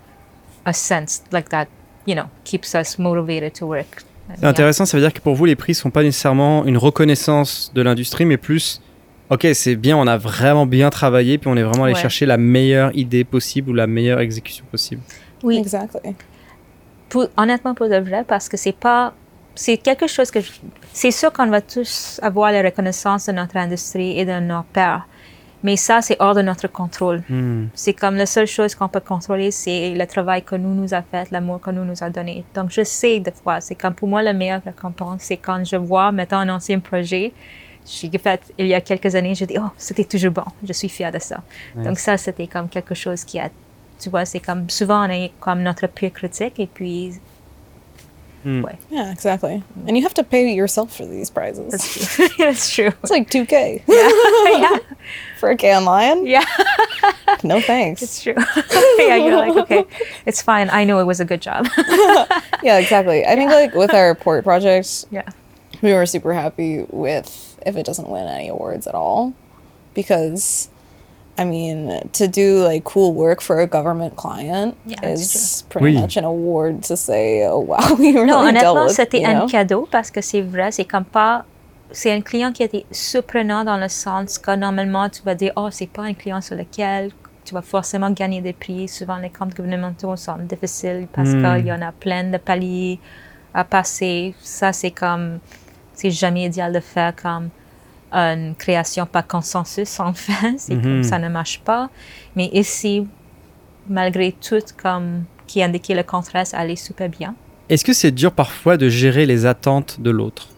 a sense like that, you know, keeps us motivated to work. C'est intéressant, ça veut dire que pour vous, les prix sont pas nécessairement une reconnaissance de l'industrie, mais plus, ok, c'est bien, on a vraiment bien travaillé, puis on est vraiment allé chercher la meilleure idée possible ou la meilleure exécution possible. Oui, exactly. Honnêtement, pour de vrai, parce que c'est quelque chose que c'est sûr qu'on va tous avoir la reconnaissance de notre industrie et de nos pairs, mais ça, c'est hors de notre contrôle. C'est comme la seule chose qu'on peut contrôler, c'est le travail que nous a fait, l'amour que nous a donné. Donc, je sais des fois, c'est comme pour moi, la meilleure récompense, c'est quand je vois, mettons, un ancien projet, j'ai fait il y a quelques années, je dis, oh, c'était toujours bon, je suis fière de ça. Ouais. Donc ça, c'était comme quelque chose qui a, tu vois, c'est comme, souvent, on est comme notre pire critique, et puis... Ouais. Yeah, exactly. And you have to pay yourself for these prizes. That's true. That's true. It's like $2,000. Yeah. For a Cannes Lion? Yeah. No thanks. It's true. Yeah, you're like, okay, it's fine. I know it was a good job. Yeah, exactly. I think like with our port projects, we were super happy with if it doesn't win any awards at all, because I mean, to do like cool work for a government client is pretty much an award to say, oh wow, we really non, honnêtement, dealt with, c'était un cadeau parce que c'est vrai, c'est comme pas, c'est un client qui était surprenant dans le sens que normalement tu vas dire, oh, c'est pas un client sur lequel tu vas forcément gagner des prix. Souvent, les comptes gouvernementaux sont difficiles parce qu'il y en a plein de paliers à passer. Ça, c'est comme, c'est jamais idéal de faire comme une création par consensus, en fait. C'est comme ça ne marche pas. Mais ici, malgré tout, comme qui indiquait le contraire, ça allait super bien. Est-ce que c'est dur parfois de gérer les attentes de l'autre?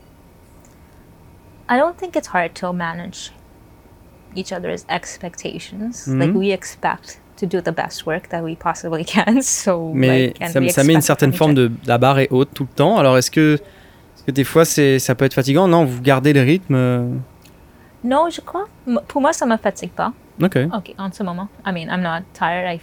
I don't think it's hard to manage each other's expectations. Like, we expect to do the best work that we possibly can. So, mais like, ça met une certaine forme de... La barre est haute tout le temps. Alors, est-ce que des fois, ça peut être fatigant? Non, vous gardez le rythme? Non, je crois. Pour moi, ça ne me fatigue pas. OK, en ce moment. I mean, I'm not tired. I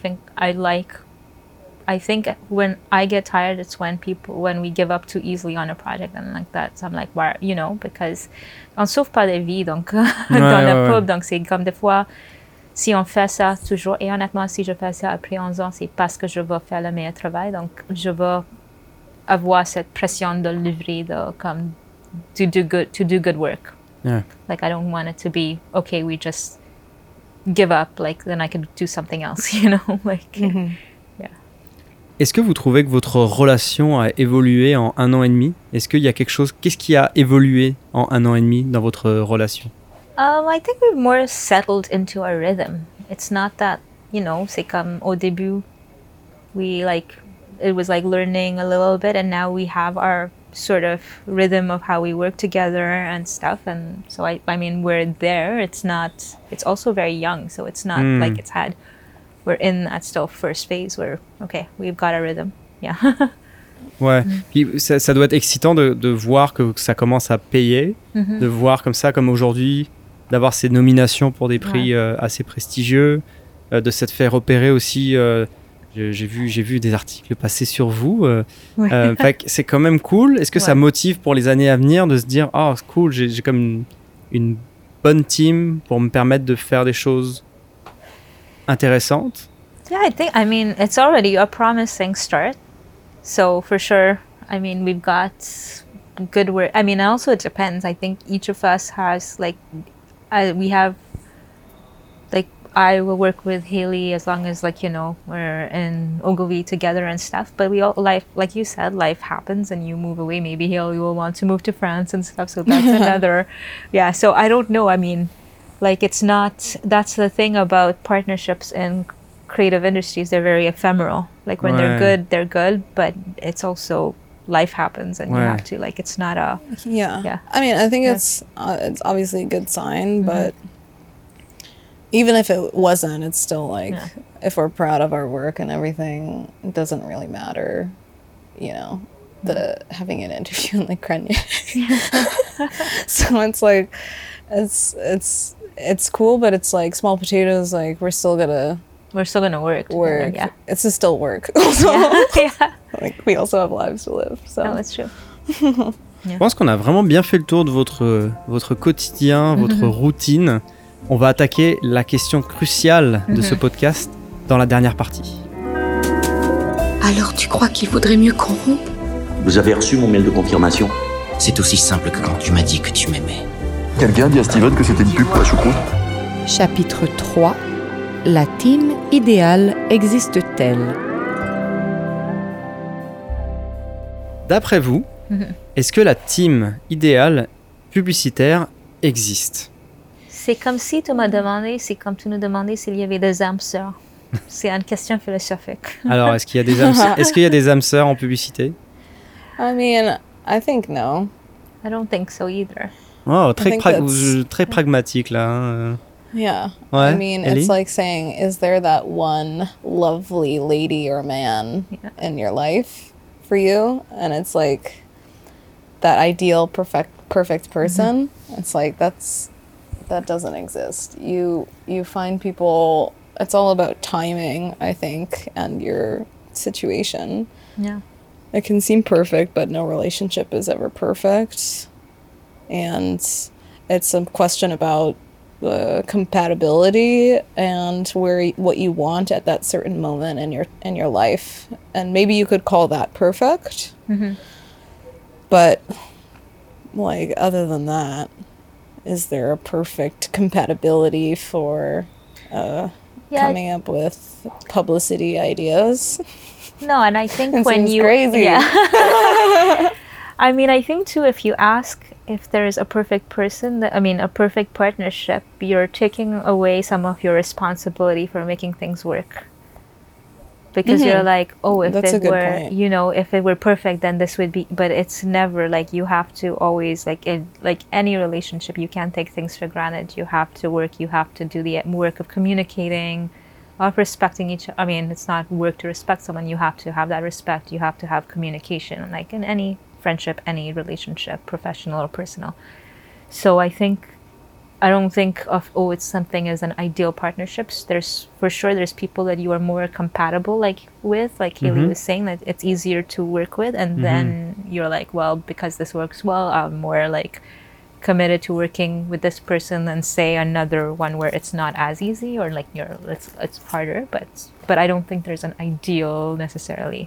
think when I get tired, it's when we give up too easily on a project and like that. So I'm like, why, you know, because on sauve pas des vies, donc, dans la pub. Donc, c'est comme des fois, si on fait ça toujours, et honnêtement, si je fais ça après 11 ans, c'est parce que je veux faire le meilleur travail. Donc, je veux avoir cette pression de livrer, de comme to do good work. Yeah. Like I don't want it to be okay. We just give up. Like then I could do something else. You know, like yeah. Est-ce que vous trouvez que votre relation a évolué en 1 an et demi? Est-ce qu'il y a quelque chose? Qu'est-ce qui a évolué en 1 an et demi dans votre relation? I think we've more settled into our rhythm. It's not that, you know, c'est comme au début, it was like learning a little bit, and now we have our sort of rhythm of how we work together and stuff. And so I mean, we're there. It's also very young, so it's not like we're in that still first phase where, okay, we've got a rhythm. Yeah. Ouais, puis ça doit être excitant de voir que ça commence à payer, de voir comme ça, comme aujourd'hui, d'avoir ces nominations pour des prix assez prestigieux, de s'être fait repérer aussi. J'ai vu des articles passer sur vous. Fait que c'est quand même cool. Est-ce que ça motive pour les années à venir de se dire, oh, c'est cool, j'ai comme une bonne team pour me permettre de faire des choses intéressantes? Yeah, I mean, it's already a promising start. So for sure, I mean, we've got good work. I mean, also it depends. I think each of us has we have, like, I will work with Haley as long as, like, you know, we're in Ogilvy together and stuff. But we all, like you said, life happens and you move away. Maybe Haley will want to move to France and stuff. So that's another, yeah. So I don't know. I mean, like, it's not, that's the thing about partnerships in creative industries. They're very ephemeral. Like when they're good, but it's also life happens and you have to, like, it's not a... Yeah. I mean, I think it's obviously a good sign, but even if it wasn't, it's still like, if we're proud of our work and everything, it doesn't really matter, you know, having an interview in like Grenier. So it's like, it's cool, but it's like small potatoes, like we're still gonna work. Yeah. It's just still work. Also. Yeah. Like we also have lives to live. So. No, it's true. Je pense qu'on a vraiment bien fait le tour de votre quotidien, votre routine. On va attaquer la question cruciale de ce podcast dans la dernière partie. Alors tu crois qu'il vaudrait mieux qu'on rompe? Vous avez reçu mon mail de confirmation? C'est aussi simple que quand tu m'as dit que tu m'aimais. Quelqu'un dit à Steven que c'était une pub pour la choucroute? Chapitre 3. La team idéale existe-t-elle? D'après vous, est-ce que la team idéale publicitaire existe? C'est comme si tu m'as demandé, c'est comme tu nous demandais s'il y avait des âmes sœurs. C'est une question philosophique. Alors, est-ce qu'il y a des âmes sœurs en publicité? I mean, I think no. I don't think so either. Oh, très pragmatique là. Hein. Yeah. Ouais, I mean, Ellie? it's like saying, is there that one lovely lady or man in your life for you? And it's like that ideal perfect person. It's like that doesn't exist. You find people. It's all about timing, I think, and your situation. Yeah. It can seem perfect, but no relationship is ever perfect. And it's a question about compatibility and what you want at that certain moment in your life. And maybe you could call that perfect. But like, other than that, is there a perfect compatibility for coming up with publicity ideas? No, and I think it when seems crazy. Yeah. I mean, I think too, if you ask if there is a perfect person, a perfect partnership, you're taking away some of your responsibility for making things work. Because you're like, oh, if That's it a good were, point. you know, if it were perfect, then this would be. But it's never like you have to always like any relationship. You can't take things for granted. You have to work. You have to do the work of communicating, of respecting each. I mean, it's not work to respect someone. You have to have that respect. You have to have communication, like in any friendship, any relationship, professional or personal. So I don't think of, oh, it's something as an ideal partnerships. There's people that you are more compatible with, like Haley was saying, that it's easier to work with, and then you're like, well, because this works well, I'm more like committed to working with this person than say another one where it's not as easy, or like it's harder, but I don't think there's an ideal necessarily.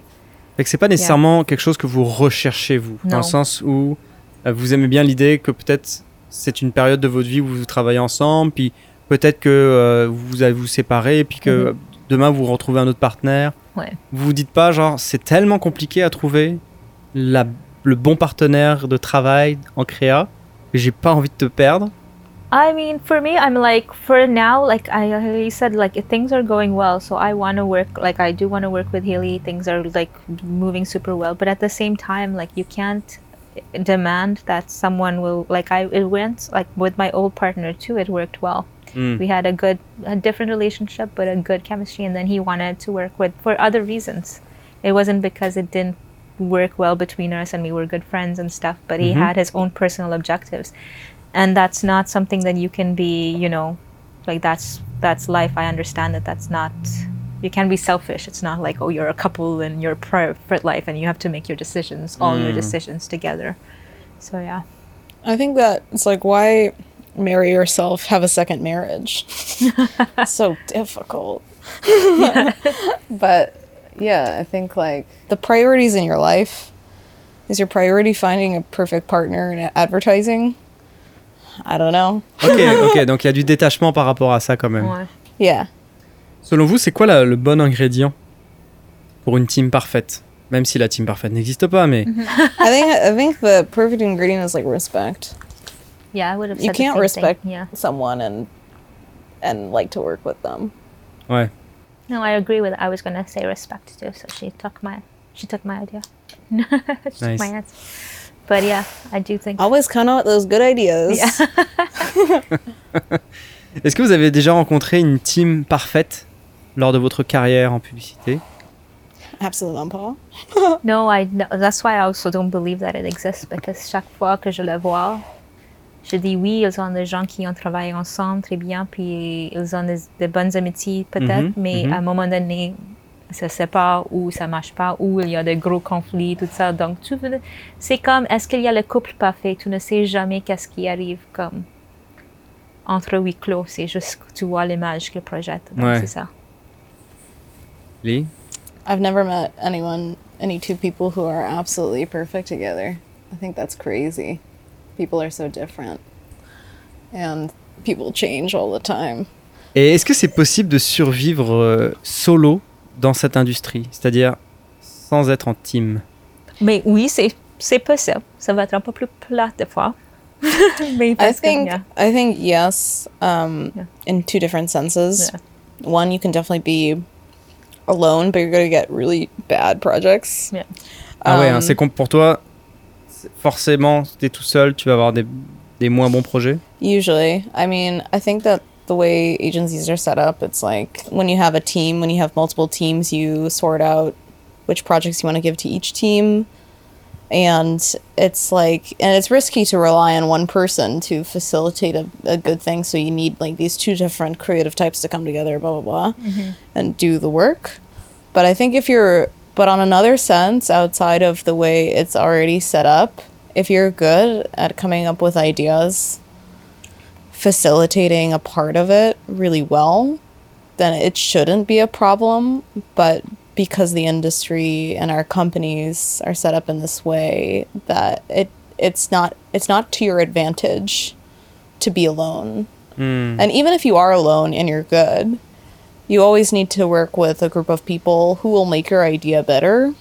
Fait que c'est pas nécessairement quelque chose que vous recherchez, vous, dans le sens où vous aimez bien l'idée que peut-être c'est une période de votre vie où vous travaillez ensemble, puis peut-être que vous allez vous séparer, puis que demain vous retrouvez un autre partenaire. Ouais. Vous vous dites pas, genre, c'est tellement compliqué à trouver le bon partenaire de travail en créa, que j'ai pas envie de te perdre. I mean, for me, I'm like, for now, like I said, like things are going well, so I want to work, like I do want to work with Haley. Things are like moving super well, but at the same time, like you can't demand that someone will, like it went, like with my old partner too, it worked well. We had a different relationship, but a good chemistry, and then he wanted to work with, for other reasons. It wasn't because it didn't work well between us and we were good friends and stuff, but he had his own personal objectives. And that's not something that you can be, you know, like that's life. I understand that that's not, you can be selfish. It's not like, oh, you're a couple and you're private life and you have to make your decisions, all your decisions together. So yeah. I think that it's like, why marry yourself, have a second marriage? So difficult. But yeah, I think like the priorities in your life, is your priority finding a perfect partner in advertising? I don't know. Ok, donc il y a du détachement par rapport à ça quand même. Ouais. Yeah. Selon vous, c'est quoi le bon ingrédient pour une team parfaite? Même si la team parfaite n'existe pas, mais... I think the perfect ingredient is like respect. Yeah, I would have said you can't respect thing. Yeah. someone and like to work with them. Ouais. No, I agree with it. I was going to say respect too, so she took my idea. She Nice. took my answer. But yeah, I do think... Always count out those good ideas. Yeah. Est-ce que vous avez déjà rencontré une team parfaite lors de votre carrière en publicité? Absolument pas. No, that's why I also don't believe that it exists, because chaque fois que je le vois, je dis oui, ils ont des gens qui ont travaillé ensemble très bien, puis ils ont des bonnes amitiés peut-être, mais à un moment donné, ça se sépare ou ça marche pas, ou il y a des gros conflits, tout ça. Donc, c'est comme, est-ce qu'il y a le couple parfait? Tu ne sais jamais qu'est-ce qui arrive comme entre huis clos. C'est juste que tu vois l'image qu'il projette. Donc, c'est ça. Lee? I've never met any two people who are absolutely perfect together. I think that's crazy. People are so different. And people change all the time. Et est-ce que c'est possible de survivre solo dans cette industrie, c'est-à-dire sans être en team? Mais oui, c'est possible. Ça va être un peu plus plat des fois. Mais I think yes, in two different senses. Yeah. One, you can definitely be alone, but you're going to get really bad projects. Yeah. Ah ouais, hein, c'est pour toi, forcément, si t'es tout seul, tu vas avoir des moins bons projets? Usually. I mean, I think that the way agencies are set up, it's like when you have a team, when you have multiple teams, you sort out which projects you want to give to each team. And it's like, and it's risky to rely on one person to facilitate a good thing. So you need like these two different creative types to come together, blah, blah, blah, and do the work. But I think but on another sense, outside of the way it's already set up, if you're good at coming up with ideas, facilitating a part of it really well, then it shouldn't be a problem. But because the industry and our companies are set up in this way, that it's not to your advantage to be alone. And even if you are alone and you're good, you always need to work with a group of people who will make your idea better.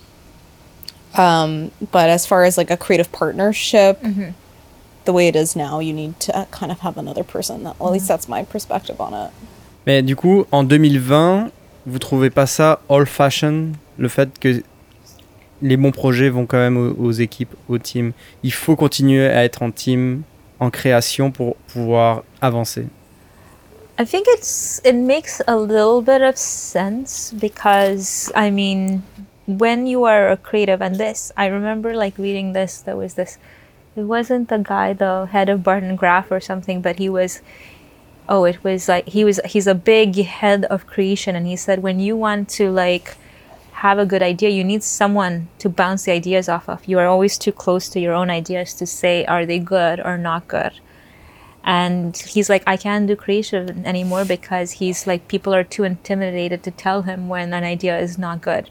But as far as like a creative partnership, the way it is now, you need to kind of have another person. Well, at least that's my perspective on it. Mais du coup, en 2020, vous trouvez pas ça old-fashioned, le fait que les bons projets vont quand même aux équipes, aux teams? Il faut continuer à être en team, en création pour pouvoir avancer. I think it makes a little bit of sense because, I mean, when you are a creative, and I remember like reading this, there was this, it wasn't the guy, the head of Barton Graff or something, but he's a big head of creation, and he said when you want to like have a good idea, you need someone to bounce the ideas off of. You are always too close to your own ideas to say, are they good or not good? And he's like, I can't do creation anymore because he's like, people are too intimidated to tell him when an idea is not good.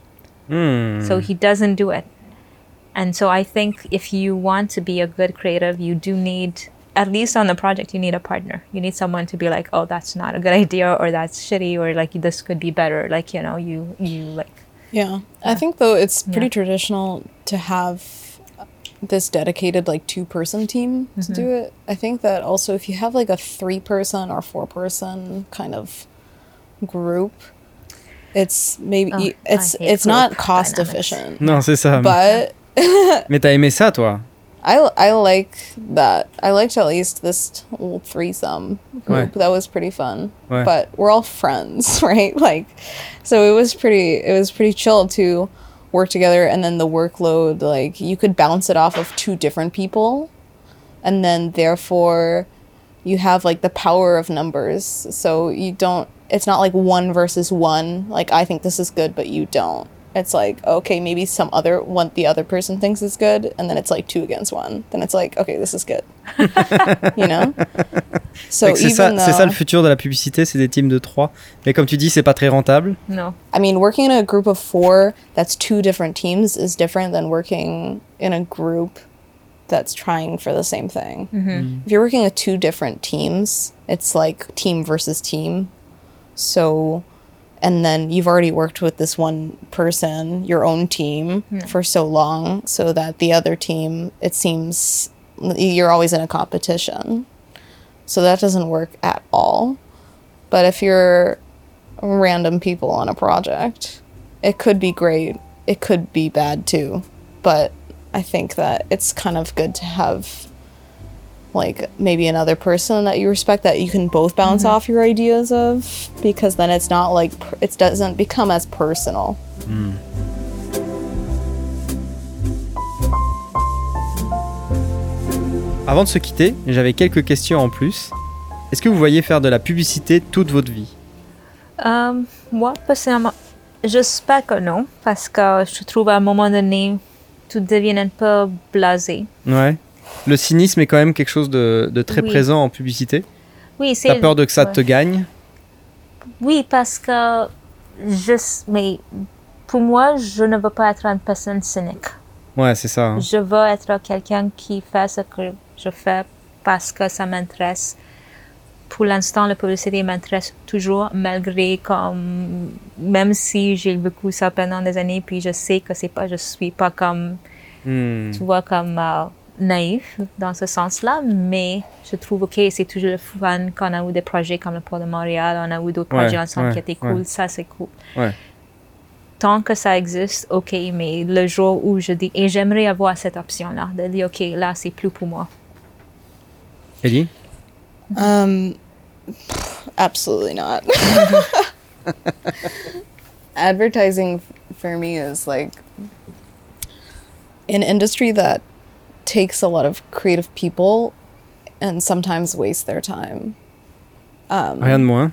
So he doesn't do it. And so I think if you want to be a good creative, you do need, at least on the project, you need a partner. You need someone to be like, oh, that's not a good idea, or that's shitty, or like this could be better. Like, you know, you like. Yeah. I think though it's pretty traditional to have this dedicated like 2-person team to do it. I think that also if you have like a 3-person or 4-person kind of group, it's maybe it's not cost efficient. Non, c'est ça. But Mais t'as aimé ça, toi? I like that. I liked at least this little threesome group. That was pretty fun. But we're all friends, right? Like, so it was pretty chill to work together, and then the workload, like, you could bounce it off of 2 different people, and then therefore you have like the power of numbers. So it's not like 1 versus 1. Like, I think this is good, but you don't. It's like, okay, maybe the other person thinks it's good, and then it's like 2 against 1. Then it's like, okay, this is good. You know? So c'est ça le futur de la publicité, c'est des teams de 3. Mais comme tu dis, c'est pas très rentable. No. I mean, working in a group of 4 that's 2 different teams is different than working in a group that's trying for the same thing. If you're working with 2 different teams, it's like team versus team. So, and then you've already worked with this one person, your own team, for so long, so that the other team, it seems you're always in a competition. So that doesn't work at all. But if you're random people on a project, it could be great. It could be bad too. But I think that it's kind of good to have like maybe another person that you respect that you can both bounce off your ideas of, because then it's not like it doesn't become as personal. Avant de se quitter, j'avais quelques questions en plus. Est-ce que vous voyez faire de la publicité toute votre vie? Moi, personnellement, j'espère que non, parce que je trouve à un moment donné, tout devient un peu blasé. Ouais. Le cynisme est quand même quelque chose de très présent en publicité. Oui, c'est... T'as peur de que ça te gagne? Oui, parce que mais pour moi, je ne veux pas être une personne cynique. Ouais, c'est ça. Hein. Je veux être quelqu'un qui fait ce que je fais parce que ça m'intéresse. Pour l'instant, la publicité m'intéresse toujours, même si j'ai vécu ça pendant des années, puis je sais que je suis pas comme, tu vois, comme naïf dans ce sens-là, mais je trouve que c'est toujours le fun quand on a eu des projets comme le Port de Montréal, on a eu d'autres projets ensemble qui étaient cool, ça c'est cool. Ouais. Tant que ça existe, ok, mais le jour où je dis, et j'aimerais avoir cette option-là, de dire, ok, là c'est plus pour moi. Ellie? Absolutely not. Advertising for me is like an industry that takes a lot of creative people and sometimes wastes their time. Rien de moins.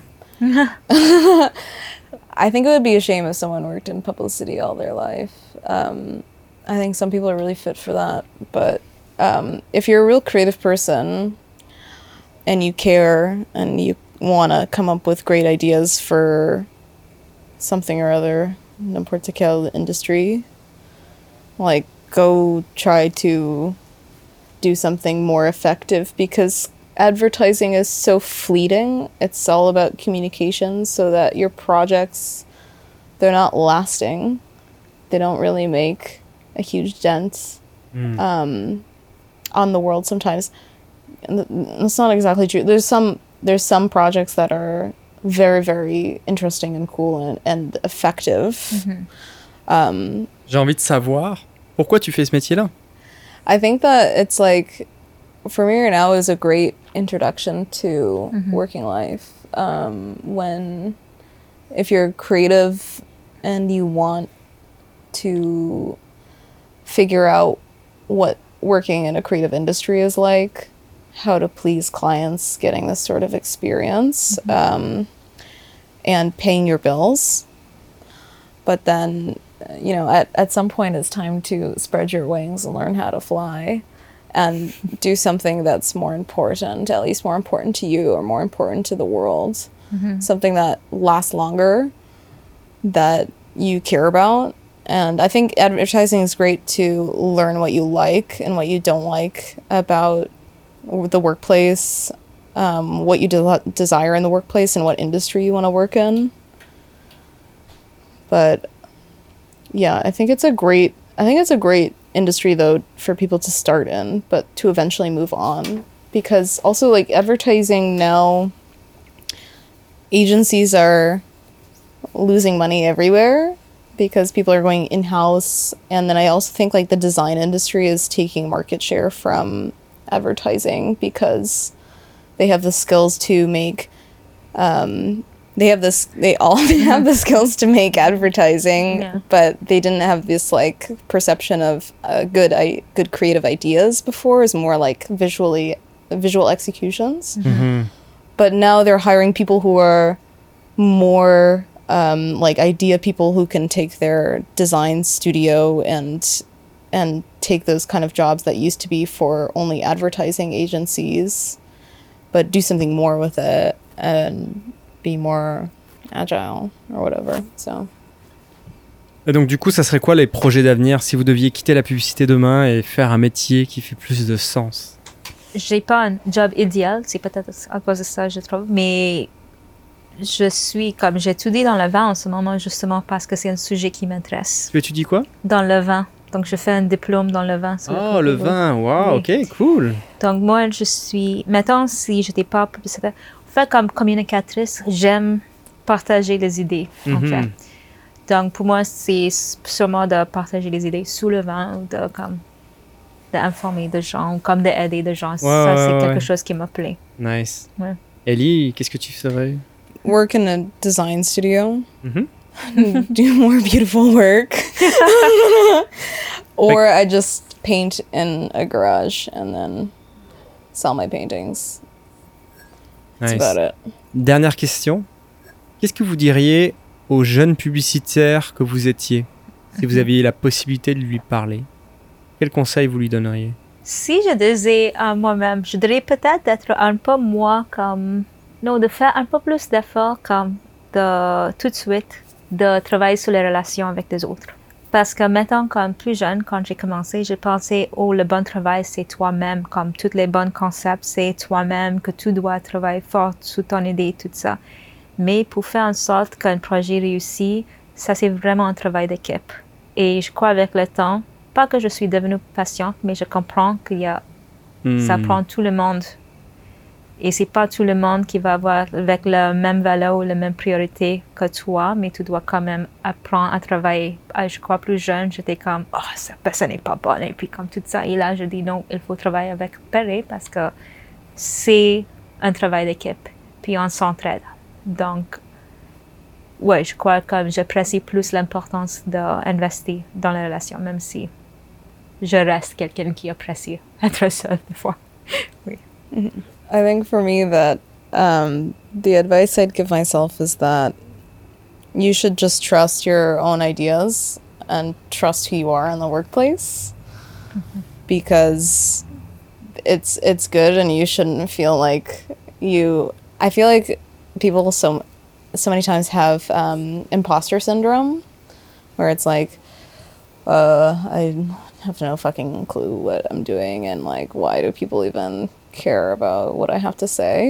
I think it would be a shame if someone worked in publicity all their life. I think some people are really fit for that. But if you're a real creative person and you care and you want to come up with great ideas for something or other, n'importe quelle industry, like go try to do something more effective, because advertising is so fleeting. It's all about communication, so that your projects, they're not lasting. They don't really make a huge dent on the world sometimes. And that's not exactly true. There's some projects that are very, very interesting and cool and effective. J'ai envie de savoir pourquoi tu fais ce métier-là. I think that it's like, for me right now, is a great introduction to working life. If you're creative and you want to figure out what working in a creative industry is like, how to please clients, getting this sort of experience, and paying your bills. But then, you know, at some point it's time to spread your wings and learn how to fly and do something that's more important, at least more important to you or more important to the world. Something that lasts longer, that you care about, And I think advertising is great to learn what you like and what you don't like about the workplace, what you desire in the workplace and what industry you want to work in. But yeah, I think it's a great industry though for people to start in, but to eventually move on. Because also like advertising now, agencies are losing money everywhere because people are going in-house. And then I also think like the design industry is taking market share from advertising because they have the skills to make they all have the skills to make advertising, but they didn't have this like perception of good creative ideas before. It's more like visual executions. But now they're hiring people who are more like idea people who can take their design studio and take those kind of jobs that used to be for only advertising agencies, but do something more with it and be more agile or whatever. So. Et donc du coup, ça serait quoi les projets d'avenir si vous deviez quitter la publicité demain et faire un métier qui fait plus de sens? J'ai pas un job idéal, c'est peut-être à cause de ça, je trouve, mais j'étudie dans le vin en ce moment justement parce que c'est un sujet qui m'intéresse. Tu étudies quoi? Dans le vin. Donc, je fais un diplôme dans le vin. Oh, le vin, wow, oui. Ok, cool. Donc, moi, maintenant, si je n'étais pas publicitaire, en fait, comme communicatrice, j'aime partager les idées, en fait. Donc, pour moi, c'est sûrement de partager les idées sous le vin ou d'informer des gens ou comme d'aider des gens. C'est quelque chose qui me plaît. Nice. Ouais. Ellie, qu'est-ce que tu ferais? Work in a design studio. Do more beautiful work. Or I just paint in a garage and then sell my paintings. That's about it. Dernière question. Qu'est-ce que vous diriez au jeune publicitaire que vous étiez si vous aviez la possibilité de lui parler? Quel conseil vous lui donneriez? Si je disais à moi-même, je dirais peut-être d'être un peu de faire un peu plus d'efforts tout de suite de travailler sur les relations avec les autres. Parce que maintenant, comme plus jeune, quand j'ai commencé, j'ai pensé, le bon travail, c'est toi-même. Comme tous les bons concepts, c'est toi-même, que tu dois travailler fort sur ton idée, tout ça. Mais pour faire en sorte qu'un projet réussit, ça, c'est vraiment un travail d'équipe. Et je crois avec le temps, pas que je suis devenue patiente, mais je comprends ça prend tout le monde. Et c'est pas tout le monde qui va avoir avec la même valeur ou la même priorité que toi, mais tu dois quand même apprendre à travailler. Je crois plus jeune, j'étais comme, cette personne n'est pas bonne, et puis comme tout ça. Et là, je dis non, il faut travailler avec pareil parce que c'est un travail d'équipe, puis on s'entraide. Donc, ouais, je crois que j'apprécie plus l'importance d'investir dans la relation, même si je reste quelqu'un qui apprécie être seul des fois. Oui. I think for me that the advice I'd give myself is that you should just trust your own ideas and trust who you are in the workplace, because it's good and you shouldn't feel like I feel like people so many times have imposter syndrome, where it's like I have no fucking clue what I'm doing and like why do people even care about what I have to say.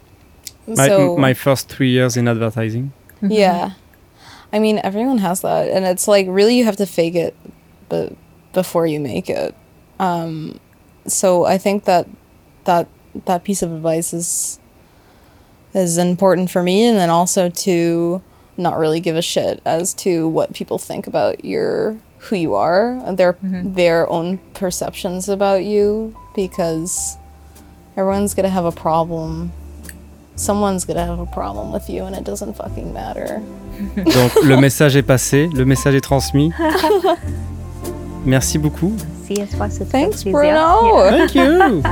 My first 3 years in advertising. Yeah. I mean, everyone has that. And it's like, really, you have to fake it before you make it. So I think that piece of advice is important for me. And then also to not really give a shit as to what people think about who you are, their own perceptions about you, because everyone's gonna have a problem. Someone's gonna have a problem with you and it doesn't fucking matter. Donc le message est passé, le message est transmis. Merci beaucoup. Merci à toi, Thanks, Bruno. Thank you.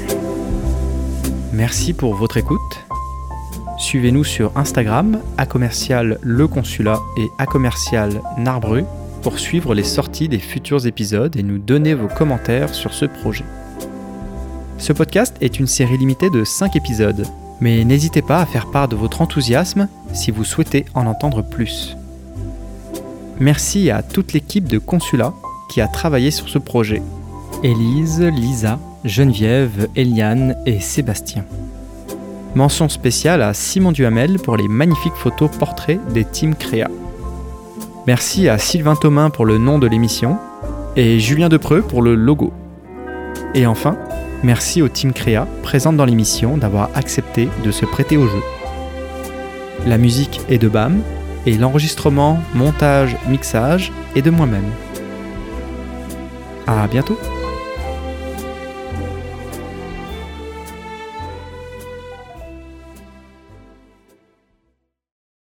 Merci pour votre écoute. Suivez-nous sur Instagram, @leconsulat et @narbru pour suivre les sorties des futurs épisodes et nous donner vos commentaires sur ce projet. Ce podcast est une série limitée de 5 épisodes, mais n'hésitez pas à faire part de votre enthousiasme si vous souhaitez en entendre plus. merci à toute l'équipe de Consulat qui a travaillé sur ce projet. Élise, Lisa, Geneviève, Eliane et Sébastien. Mention spéciale à Simon Duhamel pour les magnifiques photos portraits des teams Créa. Merci à Sylvain Thomain pour le nom de l'émission et Julien Depreux pour le logo. Et enfin, merci au team Créa présente dans l'émission d'avoir accepté de se prêter au jeu. La musique est de BAM et l'enregistrement, montage, mixage est de moi-même. À bientôt!